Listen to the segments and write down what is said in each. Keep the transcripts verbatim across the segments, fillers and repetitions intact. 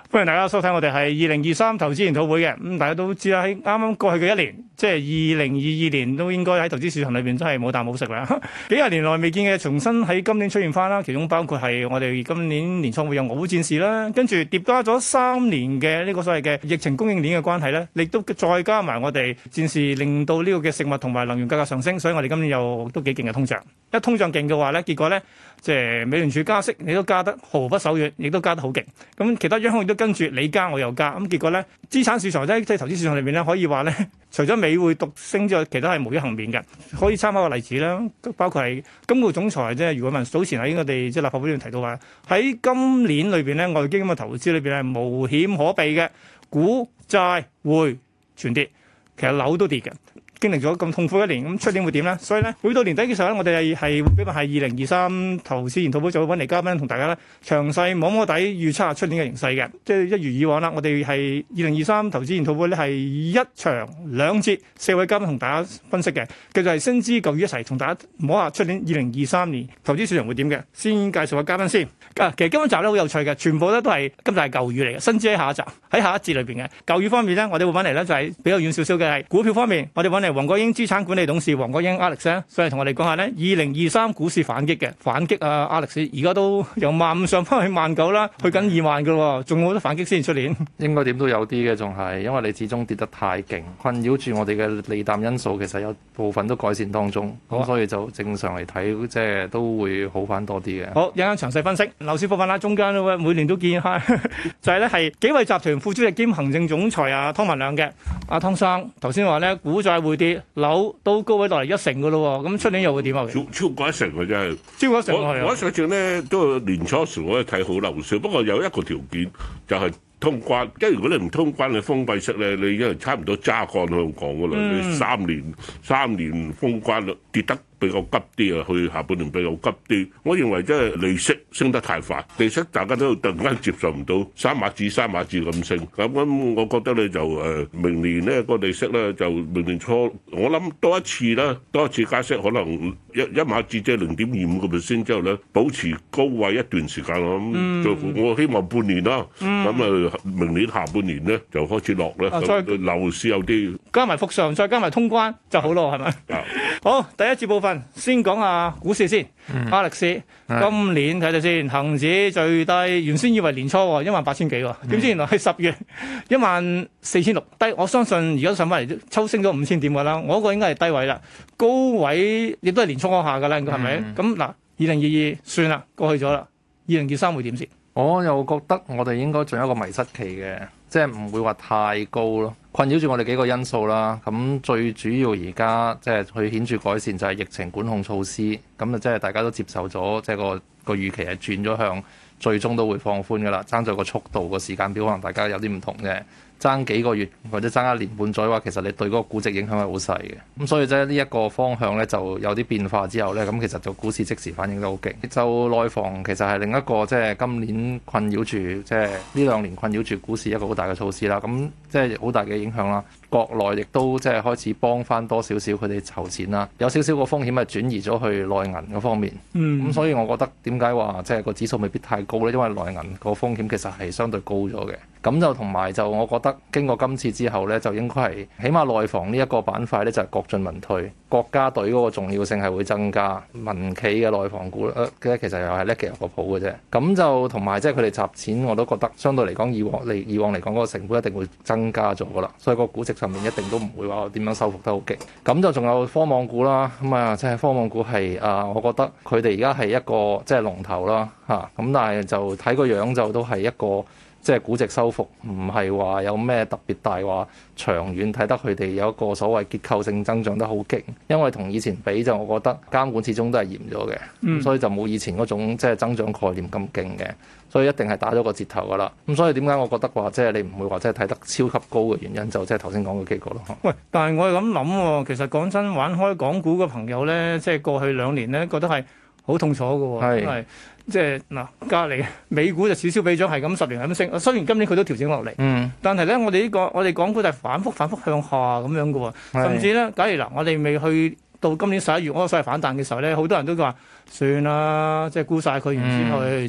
歡迎大家收睇我哋係二零二三投資研討會嘅。咁、嗯、大家都知啦，喺啱啱過去嘅一年，即係二零二二年都應該喺投資市場裏邊真係冇啖好食啦。幾廿年來未見嘅，重新喺今年出現翻啦。其中包括係我哋今年年初會有俄烏戰事啦，跟住疊加咗三年嘅呢個所謂嘅疫情供應鏈嘅關係咧，亦都再加埋我哋戰事令到呢個嘅食物同埋能源價格上升，所以我哋今年又都幾勁嘅通脹。一通脹勁嘅話咧，結果咧即係美聯儲加息，你都加得毫不手軟，亦都加得好勁。咁其他央行亦都跟住你加我又加，咁結果咧資產市場咧即係投資市場裏邊咧可以話咧，除咗美匯獨升之外，其他係無一幸免嘅。可以參考個例子啦，包括係金管總裁即係余偉文早前喺我哋即係立法會裏面提到話，喺今年裏邊咧外匯基金嘅投資裏邊係無險可避嘅，股債匯全跌，其實樓都跌嘅。經歷咗咁痛苦一年，咁出年會點咧？所以咧，每到年底嘅時候咧，我哋係係比較係二零二三投資研討會就會揾嚟嘉賓同大家咧詳細摸摸底預測下出年嘅形勢嘅。即係一如以往啦，我哋係二零二三投資研討會咧係一場兩節，四位嘉賓同大家分析嘅。繼續係新知舊語一齊同大家摸下出年二零二三年投資市場會點嘅。先介紹下嘉賓先。啊，其實今集咧好有趣嘅，全部咧都係今集係舊語嚟嘅，新知喺下一集喺下一節裏邊嘅。舊語方面咧，我哋會揾嚟咧就係比較遠少少嘅係股票方面，我哋揾嚟黃國英資產管理董事黃國英 Alex 咧，所以同我哋講下咧，二零二三股市反擊嘅反擊啊 Alex， 而家都由萬五上翻去萬九啦，去緊二萬噶咯，仲有好多反擊先出年。 應該點都有啲嘅，仲係因為你始終跌得太勁，困擾住我哋嘅利淡因素，其實有部分都改善當中，咁、啊、所以就正常嚟睇，即係都會好翻多啲嘅。 好，一陣間詳細分析。樓市部分啦，中間每年都見下，就係咧係紀惠集團副主席兼行政總裁啊湯文亮嘅。阿、啊、湯生頭先話咧，股債匯跌，樓都高位落嚟一成噶咯，咁出年又會點啊？ 超超過一成嘅真係， 超過一成我我上次咧都年初時我都睇好樓市，不過有一個條件就係、是。通關，即係如果你唔通關，你封閉式咧，你已經係差唔多揸乾香港噶啦。嗯、你三年三年封關率跌得比較急啲啊，去下半年比較急啲。我認為即係利息升得太快，利息大家都突然間接受唔到，三碼子三碼子咁升。咁咁，我覺得咧就誒明年咧個利息咧就明年初，我諗多一次啦，多一次加息，可能一一碼子即係零點二五個 percent 之後咧，保持高位一段時間。我諗就我希望半年啦，咁啊、嗯。明年下半年咧就開始落咧，咁、啊、樓市有啲加埋復常，再加埋通關就好咯，係咪？啊、好，第一節部分先講下股市先。嗯、Alex，嗯、今年睇睇先，恒指最低，原先以為年初一萬八千幾喎，點知原來係十月一萬四千六低。我相信而家上翻嚟抽升咗五千點㗎啦，我嗰個應該係低位啦，高位亦都係年初嗰下㗎啦，應該係咪？咁嗱、嗯，二零二二算啦，過去咗啦，二零二三會點先？ 我又覺得我哋應該仲有一個迷失期嘅，即係唔會話太高咯。困擾住我哋幾個因素啦。咁最主要而家即係去顯著改善就係疫情管控措施。咁啊，即係大家都接受咗，即係個個預期係轉咗向最終都會放寬噶啦。爭咗個速度個時間表，可能大家有啲唔同嘅。爭幾個月或者爭一年半載嘅話，其實你對嗰個估值影響係好細嘅。咁所以即係呢一個方向咧，就有啲變化之後咧，咁其實就股市即時反應得好勁。就內房其實係另一個即係今年困擾住，即係呢兩年困擾住股市一個好大嘅措施啦。咁即係好大嘅影響啦。國內亦都即係開始幫翻多少少佢哋籌錢啦，有少少個風險係轉移咗去內銀嗰方面。嗯，咁所以我覺得點解話即係個指數未必太高咧？因為內銀個風險其實係相對高咗嘅。咁就同埋就我覺得經過今次之後咧，就應該係起碼內房呢一個板塊咧就係國進民退，國家隊嗰個重要性係會增加。民企嘅內房股咧，其實又係叻嘅有個譜嘅啫。咁就同埋即係佢哋集錢，我都覺得相對嚟講以往嚟以往嚟講嗰個成本一定會增加咗噶啦，所以個估值上面一定都唔會話點樣收復得好勁。咁就仲有科網股啦，咁啊即係科網股係啊，我覺得佢哋而家係一個即係龍頭啦嚇。咁但係就睇個樣就都係一個。即係估值收復，唔係話有咩特別大話，長遠睇得佢哋有一個所謂結構性增長得好勁。因為同以前比就，我覺得監管始終都係嚴咗嘅，嗯、所以就冇以前嗰種即係增長概念咁勁嘅，所以一定係打咗個折頭噶啦。咁所以點解我覺得話即係你唔會話即係睇得超級高嘅原因，就即係頭先講嘅幾個咯。 喂，但係我係咁諗喎，其實講真，玩開港股嘅朋友咧，即係過去兩年咧，覺得係好痛楚嘅喎，因為即係嗱，隔離美股就此消彼長，係咁十年係咁升。雖然今年佢都調整落嚟，嗯，但係咧，我哋呢、呢個我哋港股就係反覆反覆向下咁樣嘅喎。是甚至咧，假如嗱，我哋未去到今年十一月嗰個所謂反彈嘅時候咧，好多人都話算啦，即係沽晒佢，然之後去做。嗯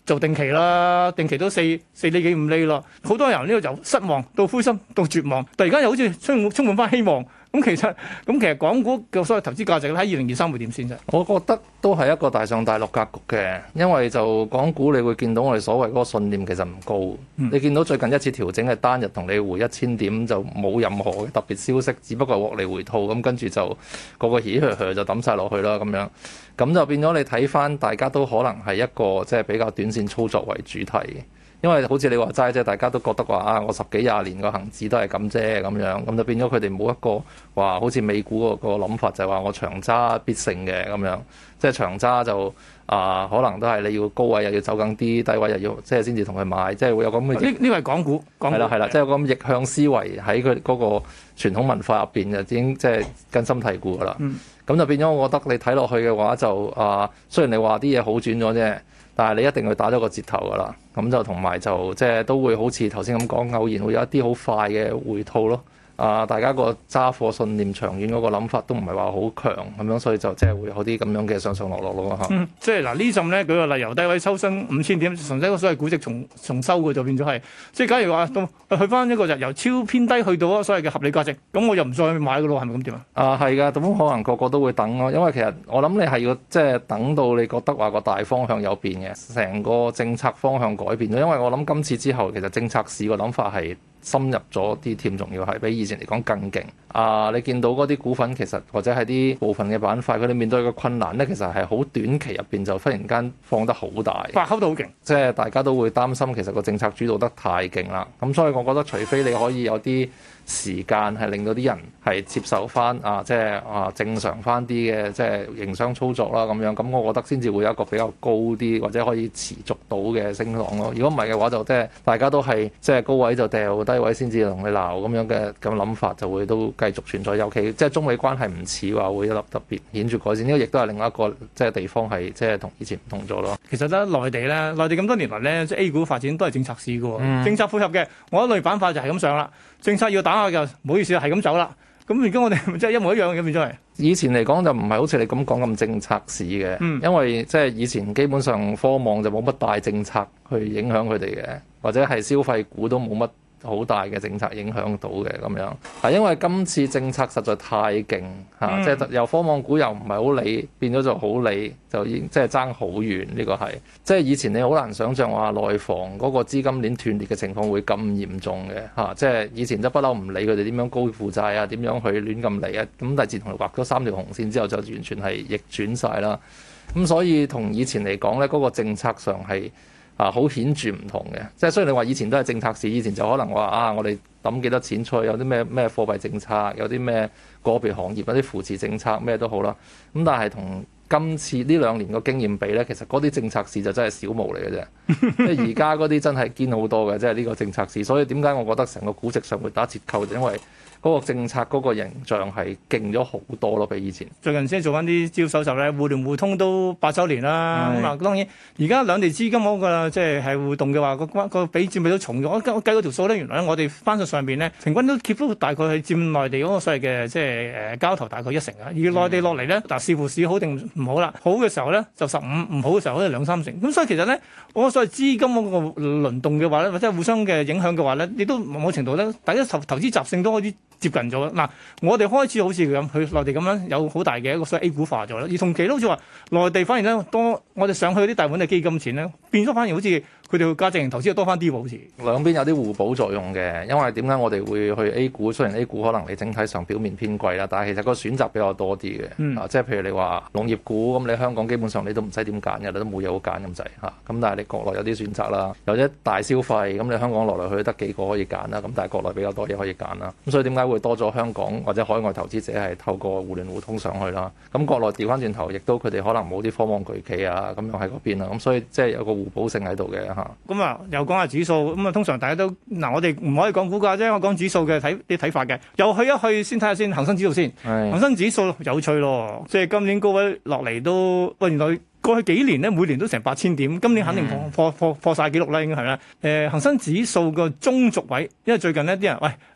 做定期啦，定期都四四厘幾五厘咯。好多人呢個由失望到灰心到絕望，突然間又好似充滿充滿翻希望。咁其實咁其實港股嘅所謂投資價值咧，喺二零二三會點先啫？ 我覺得都係一個大上大落格局嘅，因為就港股你會見到我哋所謂嗰個信念其實唔高。嗯、你見到最近一次調整係單日同你回一千點，就冇任何嘅特別消息，只不過獲利回吐咁，跟住就個個起靴靴就抌晒落去啦咁樣。咁就變咗你睇翻，大家都可能係一個即係比較短線操作為主題嘅。因為好似你話齋啫，大家都覺得話啊，我十幾廿年個恆指都係咁啫咁樣，咁就變咗佢哋冇一個話好似美股個個諗法，就係話我長揸必勝嘅咁樣，即係長揸就啊，可能都係你要高位又要走緊啲，低位又要即係先至同佢買，即係會有咁嘅。 呢呢個係港股，港股係啦係啦，即係有個咁逆向思維喺佢嗰個傳統文化入邊就已經即係根深蒂固噶啦。咁、嗯、就變咗，我覺得你睇落去嘅話就啊，雖然你話啲嘢好轉咗啫。但係你一定會打咗個折頭㗎啦，咁就同埋就即係都會好似頭先咁講，偶然會有一啲好快嘅回吐咯。啊！大家個揸貨信念長遠嗰個諗法都唔係話好強咁樣，所以就即係會有啲咁樣嘅上上落落咯嚇。 嗯，即係嗱呢陣咧，舉個例，由低位抽身五千點，純粹個所謂估值重重收嘅就變咗係，即係假如話到去翻一個就由超偏低去到所謂嘅合理價值，咁我又唔再買嘅咯，係咪咁點啊？ 啊，係㗎，咁可能個個都會等咯，因為其實我諗你係要即係等到你覺得話個大方向有變嘅，成個政策方向改變咗，因為我諗今次之後其實政策市個諗法係深入咗啲添，仲要係比以前嚟講更勁。啊，你見到嗰啲股份其實或者係啲部分嘅板塊，佢哋面對嘅困難咧，其實係好短期入邊就忽然間放得好大， 發酵到好勁， 即係大家都會擔心其實個政策主導得太勁啦。咁所以我覺得除非你可以有啲時間係令到啲人係接受翻啊，即係啊正常翻啲嘅即係營商操作啦咁樣，咁我覺得先至會有一個比較高啲或者可以持續到嘅升浪咯。如果唔係嘅話，就即係大家都係即係高位就掉，低位先至同你鬧咁樣嘅咁諗法，就會都繼續存在。尤其即係中美關係唔似話會一粒特別顯著改善，呢個亦都係另外一個即係地方係即係同以前唔同咗咯。 其實咧，內地咧，內地咁多年來咧，即係 A 股發展都係政策市嘅喎， 嗯、 政策配合嘅，我一類板塊就係咁上啦。政策要打下就唔好意思係咁走啦。咁而家我哋即係一模一樣嘅變咗係。 以前嚟講就唔係好似你咁講咁政策市嘅，嗯、因為即係以前基本上科網就冇乜大政策去影響佢哋嘅，或者係消費股都冇乜好大嘅政策影響到嘅咁樣，係因為今次政策實在太勁嚇，嗯、即係由科網股又唔係好理，變咗就好理，就已經即係爭好遠。呢、呢個係即係以前你好難想像話內房嗰個資金鏈斷裂嘅情況會咁嚴重嘅嚇、啊，即係以前就不嬲唔理佢哋點樣高負債啊，點樣去亂咁嚟啊，咁但係自從畫咗三條紅線之後，就完全係逆轉晒啦。咁所以同以前嚟講咧，嗰、嗰個政策上係啊，好顯著唔同嘅，即係雖然你話以前都係政策市，以前就可能話啊，我哋抌幾多錢出去，有啲咩咩貨幣政策，有啲咩個別行業有啲扶持政策，咩都好啦。咁但係同今次呢兩年個經驗比咧，其實嗰啲政策市就真係小毛嚟嘅啫。即係而家嗰啲真係堅好多嘅，即係呢個政策市。所以點解我覺得成個估值上會打折扣，就因為嗰個政策嗰個形象係勁咗好多咯，比以前。最近先做翻啲資料搜集咧，互聯互通都八週年啦。咁啊是，當然而家兩地資金嗰個即係係互動嘅話，個關個比佔比都重咗。我我計嗰條數咧，原來我哋翻到上邊咧，平均都 keep 到大概係佔內地嗰個所謂嘅即係誒交投大概一成啊。而內地落嚟咧，嗱視乎市好定唔好啦。好嘅時候咧就十五，唔好嘅時候可能兩三成。咁所以其實咧，我所謂資金嗰個輪動嘅話咧，或者互相嘅影響嘅話咧，亦都某程度咧，大家投投資習性都開始接近咗嗱，我哋開始好似咁去內地咁樣有好大嘅一個所謂 A 股化咗啦，而同期都好似話內地反而咧多，我哋上去啲大盤嘅基金錢咧變咗反而好似佢哋嘅價值型投資又多翻啲喎，好似兩邊有啲互補作用嘅。因為點解我哋會去 A 股？雖然 A 股可能你整體上表面偏貴啦，但係其實個選擇比較多啲嘅。嗯、啊，即係譬如你話農業股咁，你香港基本上你都唔使點揀嘅，你都冇嘢好揀咁滯嚇。咁但係你國內有啲選擇啦，有啲大消費咁，你香港落嚟去得幾個可以揀啦。咁但係國內比較多嘢可以揀啦。咁所以點解會多咗香港或者海外投資者係透過互聯互通上去啦？咁國內調翻轉頭，亦都佢哋可能冇啲科網巨企啊咁樣喺嗰邊啦。咁所以即係有個互補性喺度嘅嚇。 咁啊，又講下指數咁啊，通常大家都嗱，我哋唔可以講股價啫，我講指數嘅睇啲睇法嘅。又去一去先睇下先，恒生指數先。恒生指數有趣咯，即係今年高位落嚟都喂，原來過去幾年咧每年都成八千點，今年肯定破破破破曬紀錄啦，應該係啦。誒、呃，恒生指數個中軸位，因為最近呢啲人喂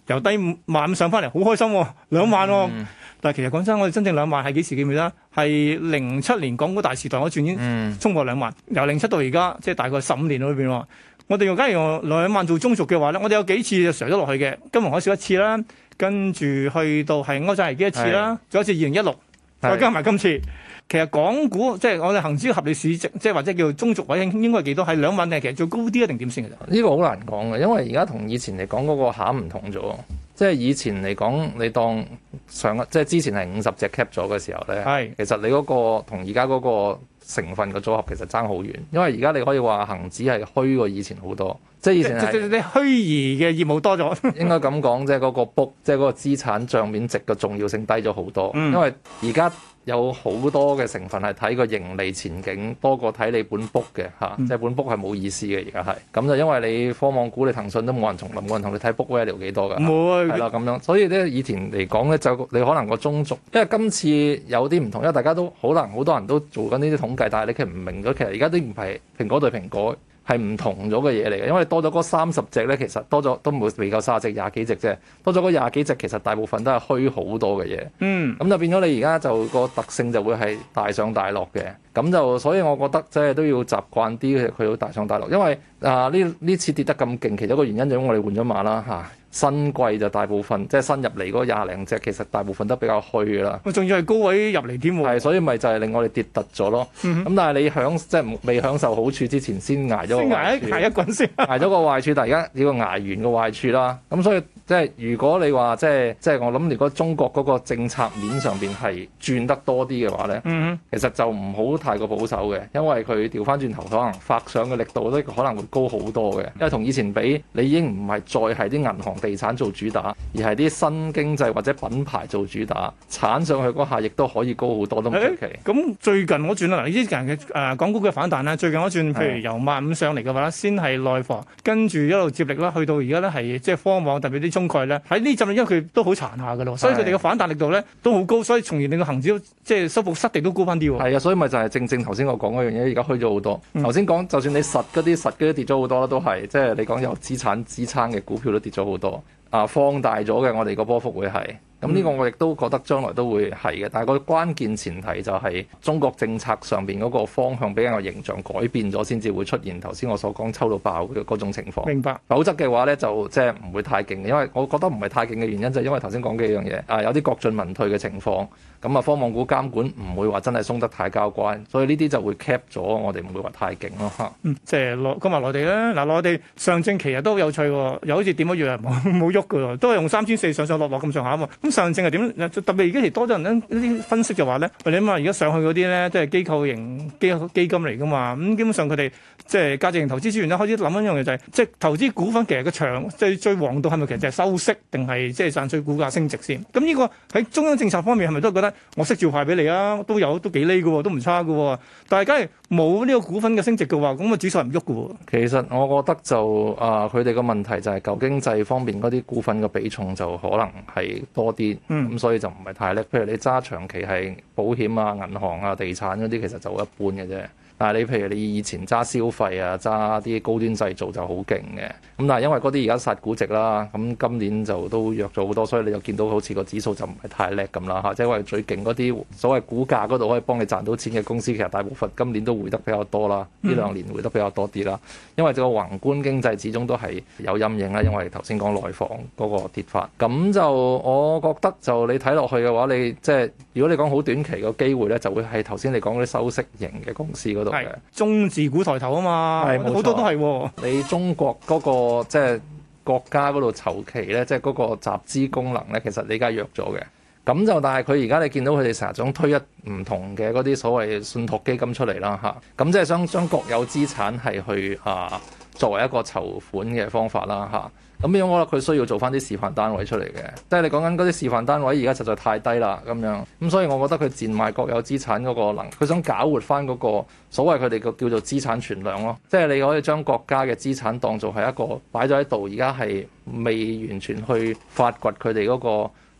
由低萬五上翻嚟，好開心喎、啊，兩萬喎、啊。 嗯、 但係其實講真，我哋真正兩萬係幾時記唔記得？係零七年港股大時代嗰轉已經衝過兩萬，嗯、由零七到而家，即係大概十五年裏邊喎。我哋用假如用兩萬做中軸嘅話咧，我哋有幾次就上咗落去嘅，金融海嘯一次啦，跟住去到係歐債危機一次啦，仲有一次二零一六，再加埋今次。其實港股即係我哋恒指嘅合理市值，即係或者叫中軸位應該係幾多？係兩萬定係其實最高啲一定點先嘅啫？ 呢個好難講嘅，因為而家同以前嚟講嗰個餡唔同咗。即係以前嚟講，你當上即係之前係五十隻 cap 咗嘅時候咧，係其實你嗰個同而家嗰個成分嘅組合其實爭好遠，因為而家你可以話恒指係虛過以前好多，即係以前係你虛擬嘅業務多咗， 應該咁講，即係嗰個 book，即係嗰個資產帳面值嘅重要性低咗好多，嗯、因為而家有好多嘅成分係睇個盈利前景多過睇你本 book 嘅嚇，嗯、即係本 book 係冇意思嘅而家係，咁就因為你科網股你騰訊都冇人重臨，冇人同你睇 book value 幾多㗎，冇係啦咁樣，所以咧以前嚟講咧就你可能個中軸，因為今次有啲唔同，因為大家都可能好多人都做緊呢啲統計，但係你其實唔明咗，其實而家都唔係蘋果對蘋果。係唔同咗嘅嘢嚟嘅，因為多咗嗰三十隻咧，其實多咗都冇未夠三十隻，廿幾隻啫。多咗嗰廿幾隻，其實大部分都係虛好多嘅嘢。嗯，咁就變咗你而家就個特性就會係大上大落嘅。咁就所以我覺得即係都要習慣啲佢好大上大落，因為啊呢呢次跌得咁勁，其中一個原因就因為我哋換咗馬啦嚇。啊新貴就大部分即係新入嚟嗰廿零隻，其實大部分都比較虛㗎啦。 仲要係高位入嚟添喎。係， 所以咪就係令我哋跌突咗咯。咁、嗯、哼但係你享即係未享受好處之前，先捱咗個壞處。先捱一捱一滾先。捱咗個壞處，但係而家要捱完個壞處啦。咁所以即係如果你話即係即係我諗，如果中國嗰個政策面上邊係轉得多啲嘅話咧，嗯、哼其實就唔好太過保守嘅，因為佢調翻轉頭可能發上嘅力度都可能會高好多嘅。因為同以前比，你已經唔係再係啲銀行。地產做主打，而係啲新經濟或者品牌做主打，鏟上去嗰下亦都可以高好多都唔出奇。 咁、欸、最近我轉啦，嗱呢啲近嘅誒港股嘅反彈啦，最近我轉，譬如由萬五上嚟嘅話，先係內房，跟住一路接力啦，去到而家咧係即係科網，特別啲中概咧喺呢陣，因為佢都好殘下嘅咯，所以佢哋嘅反彈力度咧都好高，所以從而令到恒指即係收復失地都高翻啲喎。係啊，所以咪就係正正頭先我講嗰樣嘢，而家虛咗好多。頭先講就算你實嗰啲實嗰啲跌咗好多啦，都係即係你講有資產支撐嘅股票都跌咗好多。啊，放大咗嘅，我哋個波幅會係，咁呢個我亦都覺得將來都會係嘅。但係個關鍵前提就係中國政策上邊嗰個方向比較形象改變咗，先至會出現頭先我所講抽到爆嘅嗰種情況。 明白。 否則嘅話咧，就即係唔會太勁嘅，因為我覺得唔係太勁嘅原因就係因為頭先講幾樣嘢，啊有啲國進民退嘅情況，咁啊科網股監管唔會話真係鬆得太交關，所以呢啲就會 cap 咗，我哋唔會話太勁咯嚇。 嗯，即係內今日內地咧，嗱內地上證其實都好有趣喎，又好似點一樣冇冇喐嘅喎，都係用三千四上上落落咁上下啊嘛。咁上證係點？特別而家其實多咗人咧，啲分析就話咧，你諗下而家上去嗰啲咧，即係機構型基基金嚟噶嘛。咁基本上佢哋即係價值型投資資源咧，開始諗一樣嘢就係、是，即係投資股份其實個長即係最王道係咪其實就係收息定係即係賺取股價升值先？咁呢個喺中央政策方面係咪都覺得我息照派俾你啊？都有都幾厘嘅喎，都唔差嘅喎。但係假如冇呢個股份嘅升值嘅話，咁個指數係唔喐嘅喎。 其實我覺得就啊，佢哋個問題就係舊經濟方面嗰啲股份嘅比重就可能係多啲，咁、嗯、所以就唔係太叻。譬如你揸長期係保險啊、銀行啊、地產嗰啲，其實就一般嘅啫。但係你譬如你以前揸消費啊、揸啲高端製造就好勁嘅，咁但係因為嗰啲而家殺估值啦，咁今年就都弱咗好多，所以你就見到好似個指數就唔係太叻咁啦嚇。即係話最勁嗰啲所謂股價嗰度可以幫你賺到錢嘅公司，其實大部分今年都回得比較多啦，呢、嗯、兩年回得比較多啲啦。因為個宏觀經濟始終都係有陰影啦，因為頭先講內房嗰個跌法，咁就我覺得就你睇落去嘅話，你即係如果你講好短期個機會咧，就會係頭先你講嗰啲收息型嘅公司嗰度。係中字股抬頭啊嘛，係好多都係、哦。 你中國嗰、那個即係、就是、國家嗰度籌期咧，即係嗰個集資功能咧，其實你而家弱咗嘅。咁就但係佢而家你見到佢哋成日想推一唔同嘅嗰啲所謂信託基金出嚟啦嚇。咁即係將將國有資產係去啊作為一個籌款嘅方法啦嚇。咁樣我覺得佢需要做翻啲示範單位出嚟嘅，即係你講緊嗰啲示範單位而家實在太低啦咁樣，咁所以我覺得佢賤賣國有資產嗰個能，佢想搞活翻嗰個所謂佢哋個叫做資產存量咯，即係你可以將國家嘅資產當做係一個擺咗喺度，而家係未完全去發掘佢哋嗰個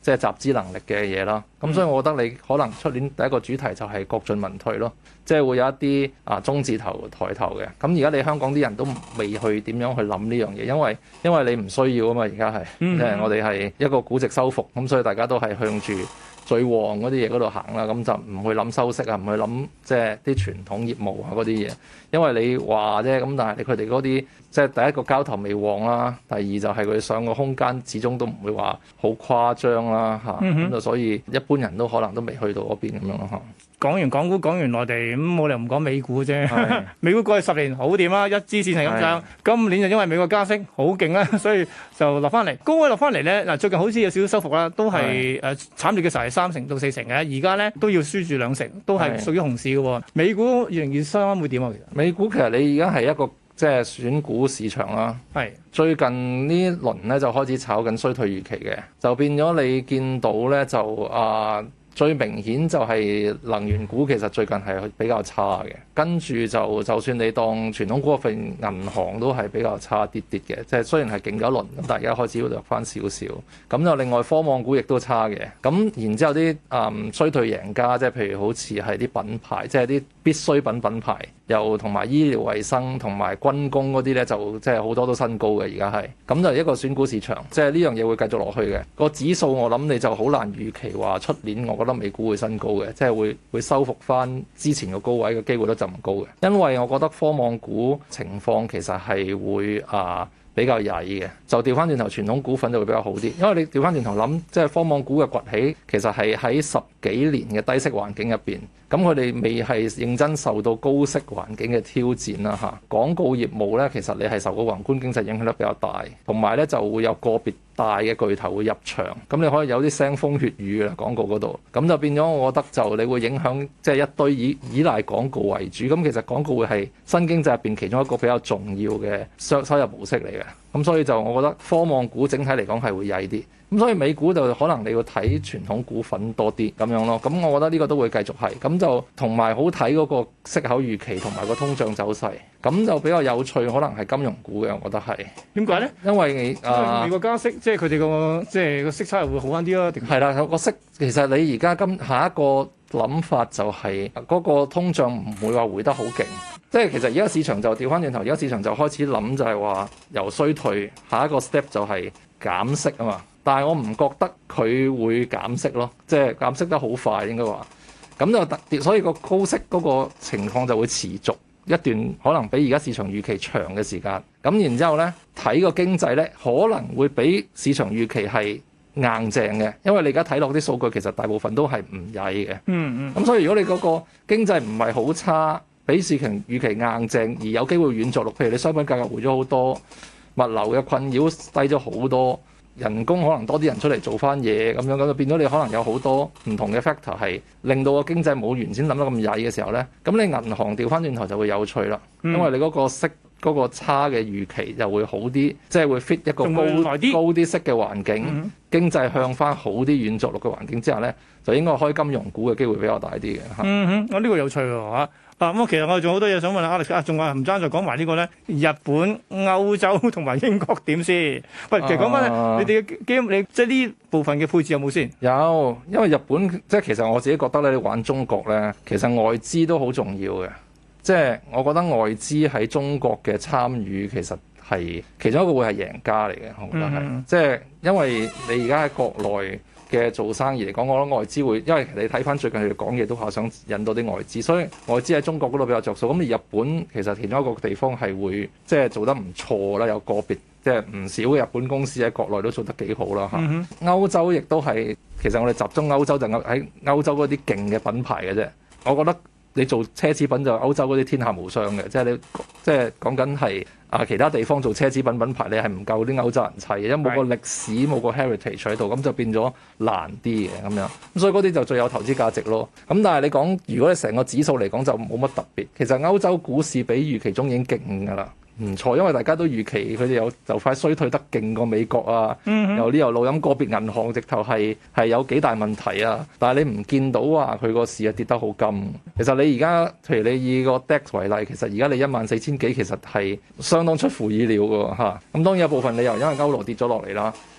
即係集資能力嘅嘢啦。咁所以我覺得你可能出年第一個主題就係國進民退咯，即係會有一啲啊中字頭抬頭嘅。咁而家你香港啲人都未去點樣去諗呢樣嘢，因為因為你唔需要啊嘛，而家係即係我哋係一個估值收復，咁所以大家都係向住最旺嗰啲嘢嗰度行啦，咁就唔去諗收息啊，唔去諗即係啲傳統業務啊嗰啲嘢，因為你話啫，咁但係你佢哋嗰啲即係第一個交投未旺啦，第二就係佢上個空間始終都唔會話好誇張啦嚇，咁、嗯、就所以一般人都可能都未去到嗰邊咁樣咯嚇。 講完港股，講完內地，咁冇理由唔講美股啫。美股過去十年好掂啦，一支線係咁上。今年就因為美國加息好勁啦，所以就落翻嚟。高位落翻嚟咧，嗱最近好似有少少收復啦，都係誒慘烈嘅時候係三成到四成嘅，而家咧都要輸住兩成，都係屬於熊市嘅喎。美股二零二三會點啊？其實美股其實你而家係一個即係選股市場啦。係最近呢輪咧就開始炒緊衰退預期嘅，就變咗你見到咧就啊。呃最明顯就係能源股其實最近係比較差嘅，跟住就就算你當傳統股份銀行都係比較差啲啲嘅，即係雖然係勁咗一輪，咁但係而家開始要弱翻少少。咁就另外科網股亦都差嘅，咁然之後啲嗯衰退贏家，即係譬如好似係啲品牌，即係啲必需品品牌，又同埋醫療衛生同埋軍工嗰啲咧，就即係好多都新高嘅而家係。咁就一個選股市場，即係呢樣嘢會繼續落去嘅。個指數我諗你就好難預期話出年我覺得美股會新高嘅，即係會會收復翻之前個高位嘅機會率就唔高嘅，因為我覺得科網股情況其實係會啊比較曳嘅，就調翻轉頭傳統股份就會比較好啲，因為你調翻轉頭諗，即係科網股嘅崛起其實係喺十幾年嘅低息環境入邊，咁佢哋未係認真受到高息環境嘅挑戰啦嚇。廣告業務咧，其實你係受個宏觀經濟影響得比較大，同埋咧就會有個別大嘅巨頭會入場，咁你可以有啲腥風血雨嘅廣告嗰度，咁就變咗我覺得就你會影響即係一堆以依賴廣告為主，咁其實廣告會係新經濟入邊其中一個比較重要嘅收收入模式嚟嘅，咁所以就我覺得科網股整體嚟講係會曳啲。咁所以美股就可能你要睇傳統股份多啲咁樣咯，咁我覺得呢個都會繼續係，咁就同埋好睇嗰個息口預期同埋個通脹走勢，咁就比較有趣，可能係金融股嘅，我覺得係。點解咧？因為啊， 美國加息，即係佢哋個即係個息差又會好翻啲咯。 係啦，個息其實你而家今下一個諗法就係嗰個通脹唔會話回得好勁，即係其實而家市場就調翻轉頭，而家市場就開始諗就係話由衰退下一個 step 就係減息啊嘛。但係我唔覺得佢會減息咯，即係減息得好快應該話，咁就特所以個高息嗰個情況就會持續一段可能比而家市場預期長嘅時間。咁然之後呢，睇個經濟呢可能會比市場預期係硬淨嘅，因為你而家睇落啲數據其實大部分都係唔曳嘅。嗯嗯。咁所以如果你嗰個經濟唔係好差，比市場預期硬淨，而有機會軟着陸，譬如你商品價格回咗好多，物流嘅困擾低咗好多。人工可能多啲人出嚟做翻嘢咁樣，咁就變咗你可能有好多唔同嘅 factor 係令到個經濟冇原先諗得咁曳嘅時候呢。咁你銀行調翻轉頭就會有趣啦，嗯、因為你嗰個息嗰、嗰個差嘅預期就會好啲，即係會 fit 一個高高啲息嘅環境，嗯、經濟向翻好啲軟着陸嘅環境之下呢，就應該開金融股嘅機會比較大啲嘅嚇。嗯哼， 我、這、呢個有趣喎嚇。啊咁，其實我哋仲有好多嘢想問阿 Alex 啊，仲話唔爭再講埋呢個咧，日本、歐洲同埋英國點先？喂，其實講翻、啊、你哋嘅基金，你即係呢部分嘅配置有冇先？ 有，因為日本即係其實我自己覺得咧，你玩中國咧，其實外資都好重要嘅。即係我覺得外資喺中國嘅參與其實係其中一個會係贏家嚟嘅，我覺得係。嗯、即係因為你而家喺國內嘅做生意嚟講，我覺得外資會，因為你睇翻最近佢哋講嘢都話想引到啲外資，所以外資喺中國嗰度比較着數。咁而日本其實其中一個地方係會即係做得唔錯啦，有個別即係唔少嘅日本公司喺國內都做得幾好啦嚇。嗯、哼歐洲亦都係，其實我哋集中歐洲就喺歐洲嗰啲勁嘅品牌嘅啫。我覺得你做奢侈品就歐洲嗰啲天下無雙嘅，即係你即係講緊係啊其他地方做奢侈品品牌，你係唔夠啲歐洲人砌嘅，因為冇個歷史冇個 heritage 喺度，咁就變咗難啲嘅咁樣。咁所以嗰啲就最有投資價值咯。咁但係你講，如果你成個指數嚟講就冇乜特別，其實歐洲股市比預期中已經勁㗎啦。唔錯，因為大家都預期佢哋有就快衰退得勁過美國啊，有呢有路咁個別銀行直頭係係有幾大問題啊，但係你唔見到話佢個市啊跌得好金。其實你而家譬如你以個 D A X 為例，其實而家你一萬四千幾，其實係相當出乎意料㗎嚇。咁當然有部分理由因為歐羅跌咗落嚟啦。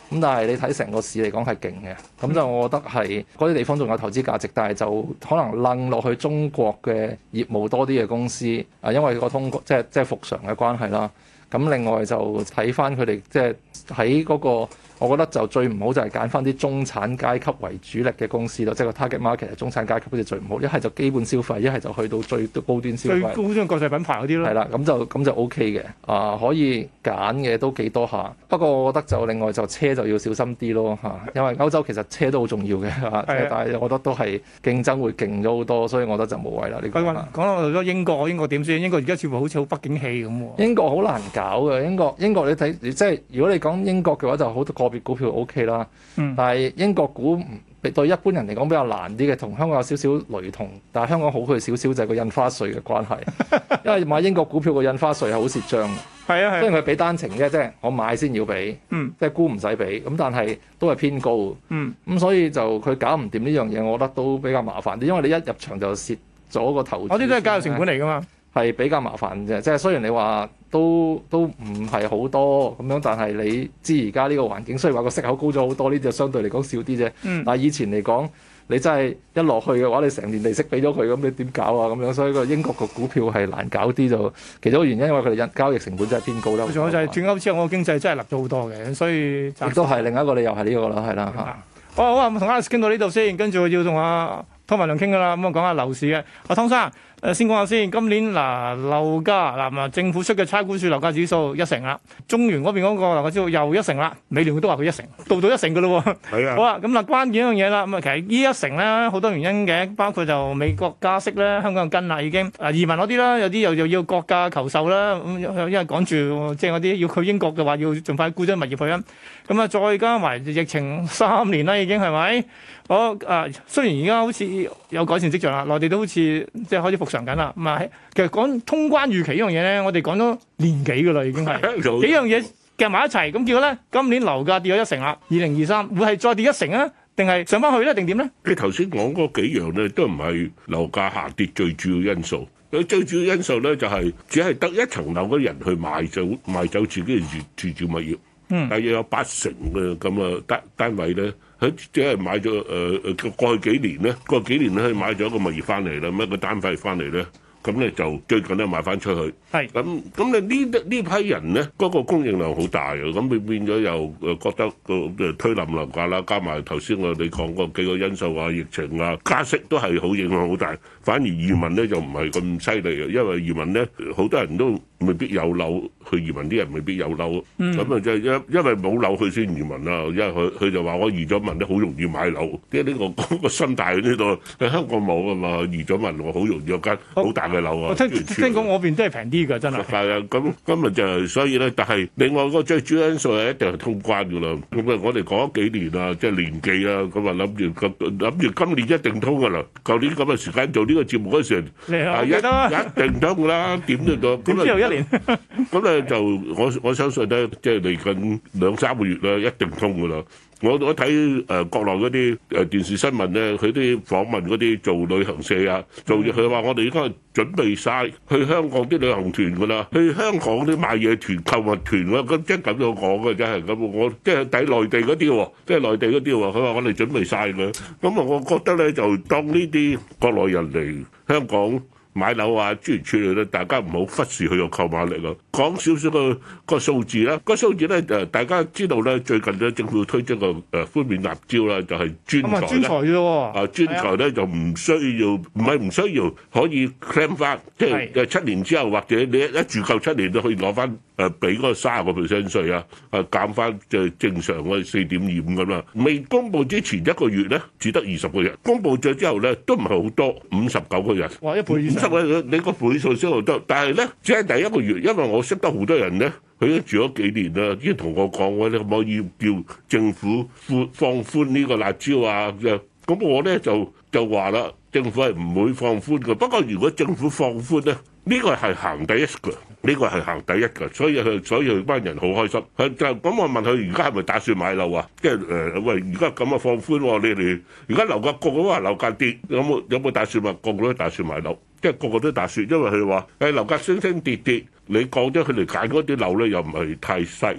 咁但係你睇成個市嚟講係勁嘅，咁就我覺得係嗰啲地方仲有投資價值，但係就可能楞落去中國嘅業務多啲嘅公司啊，因為個通即係即係復常嘅關係啦。咁另外就睇翻佢哋即係喺嗰個。我覺得就最唔好就係揀翻啲中產階級為主力嘅公司咯，即係個 target market 係中產階級好似最唔好，一係就基本消費，一係就去到最高端消費， 最高端國際品牌嗰啲咯。 係啦，咁就咁就 OK 嘅，啊可以揀嘅都幾多下。不過我覺得就另外就車就要小心啲咯嚇，因為歐洲其實車都好重要嘅嚇，的但係我覺得都係競爭會勁咗好多，所以我覺得就冇謂啦。呢個講講到英國，英國點先？英國而家似乎好似好不景氣咁喎。 英國好難搞嘅，英國英國你睇即係如果你講英國嘅話，就好多個別股票 OK 啦，嗯、但係英國股對一般人嚟講比較難啲嘅，同香港有少少雷同，但係香港好佢少少就係個印花稅嘅關係，因為買英國股票個印花稅係好蝕張嘅， 係啊係， 雖然佢俾單程啫，即係我買先要俾， 嗯、 即係沽唔使俾，咁但係都係偏高，咁、 嗯、 所以就佢搞唔掂呢樣嘢，我覺得都比較麻煩啲，因為你一入場就蝕咗個投資， 嗰啲都係交易成本嚟㗎嘛。 係比較麻煩嘅，即係雖然你話都都唔係好多咁樣，但係你知而家呢個環境，雖然話個息口高咗好多，呢啲就相對嚟講少啲啫。嗯、但係以前嚟講，你真係一落去嘅話，你成年利息俾咗佢，咁你點搞啊？咁樣，所以個英國個股票係難搞啲，就其中一個原因，因為佢哋交易成本真係偏高啦。 仲有就係轉歐之後，我個經濟真係立咗好多嘅，所以亦都係另一個理由係呢個啦，係啦嚇。 好好啊，同 Alex 傾到呢度先，跟住要同阿湯文亮傾噶啦，咁啊講下樓市嘅。阿湯生。誒先講下先，今年嗱樓價嗱啊政府出嘅差估署樓價指數一成啦，中原嗰邊嗰個樓價指數又一成啦，美聯都話佢一成，到到一成嘅咯喎。係啊。好啦，咁嗱關鍵一樣嘢啦，咁啊其實呢一成咧好多原因嘅，包括就美國加息咧，香港跟啦已經，啊移民嗰啲啦，有啲又又要國價求售啦，咁因為趕住即係嗰啲要去英國嘅話，要盡快沽咗物業去啦。咁啊再加埋疫情三年啦，已經係咪？我啊雖然而家好似有改善跡象啦，內地都好似即係開始復常緊啦。咁啊，其實講通關預期呢樣嘢咧，我哋講咗年幾㗎啦，已經係幾樣嘢夾埋一齊。咁結果咧，今年樓價跌咗一成啦，二零二三會係再跌一成啊？定係上翻去咧？定點咧？ 你頭先講嗰幾樣咧，都唔係樓價下跌最主要因素。佢最主要因素咧，就係只係得一層樓嘅人去賣走賣走自己嘅住住住物業。嗯，但係有八成嘅咁啊單單位咧，佢只係買咗誒誒過去幾年咧，過去幾年咧，佢買咗一個物業翻嚟啦，一個單位翻嚟咧。咁咧就最近咧賣翻出去，係咁咁你呢呢批人咧嗰個供應量好大嘅，咁佢變咗又誒覺得個誒推冧樓價啦，加埋頭先我哋講過幾個因素啊，疫情啊，加息都係好影響好大。反而移民咧就唔係咁犀利嘅，因為移民咧好多人都未必有樓去移民，啲人未必有樓，咁啊即係因因為冇樓佢先移民啦，因為佢佢就話我移咗民咧好容易買樓，即係呢個嗰個心態喺呢度。喺香港冇啊嘛，移咗民我好容易有間好大嘅樓啊。 我聽聽講我邊都係平啲㗎，真係。 係啊，咁今日就係所以咧，但係另外個最主要因素係一定係通關㗎啦。咁啊，我哋講咗幾年啊，即係年幾啊，咁啊諗住諗住今年一定通㗎啦。舊年咁嘅時間做呢個節目嗰時， 係一一定通㗎啦，點都得。 點知又一年？ 咁咧就我我相信咧，即係嚟緊兩三個月咧，一定通㗎啦。我我睇誒國內嗰啲誒電視新聞咧，佢啲訪問嗰啲做旅行社啊，做佢話我哋而家準備晒去香港啲旅行團㗎啦，去香港啲買嘢團、購物團啊，咁即係咁樣講嘅，真係咁。我即係睇內地嗰啲喎，即係內地嗰啲喎，佢話我哋準備晒㗎。咁啊，我覺得咧就當呢啲國內人嚟香港買樓啊，諸如此類咧，大家唔好忽視佢個購買力啊！講少少個個數字啦，個數字咧誒，大家知道咧，最近咧政府推出個誒寬免辣椒啦，就係專才咧。專才啫喎！啊，專才咧就唔需要，唔係唔需要，可以 claim 翻，即係誒七年之後或者你一一住夠七年都可以攞翻誒俾嗰個三十個 percent 稅啊，誒減翻就係正常嘅四點二五咁啦。未公佈之前一個月咧，只得二十個人；公佈咗之後咧，都唔係好多，五十九個人。哇！一倍以上。你個倍數先好多，但係咧，只係第一個月，因為我識得好多人咧，佢都住咗幾年啦，已經同我講我你可唔可以叫政府寬放寬呢個辣椒啊？咁我咧就就話啦，政府係唔會放寬嘅。不過如果政府放寬咧，呢個係行第一嘅，呢個係行第一嘅，所以佢所以佢班人好開心。佢就咁我問佢而家係咪打算買樓啊？即係誒喂，而家咁啊放寬喎，你哋而家樓價降啊，樓價跌，有冇有冇打算話個個都打算買樓？即係個個都打算，因為佢話誒樓價升升跌跌，你降咗佢哋揀嗰啲樓咧，又唔係太細嘅。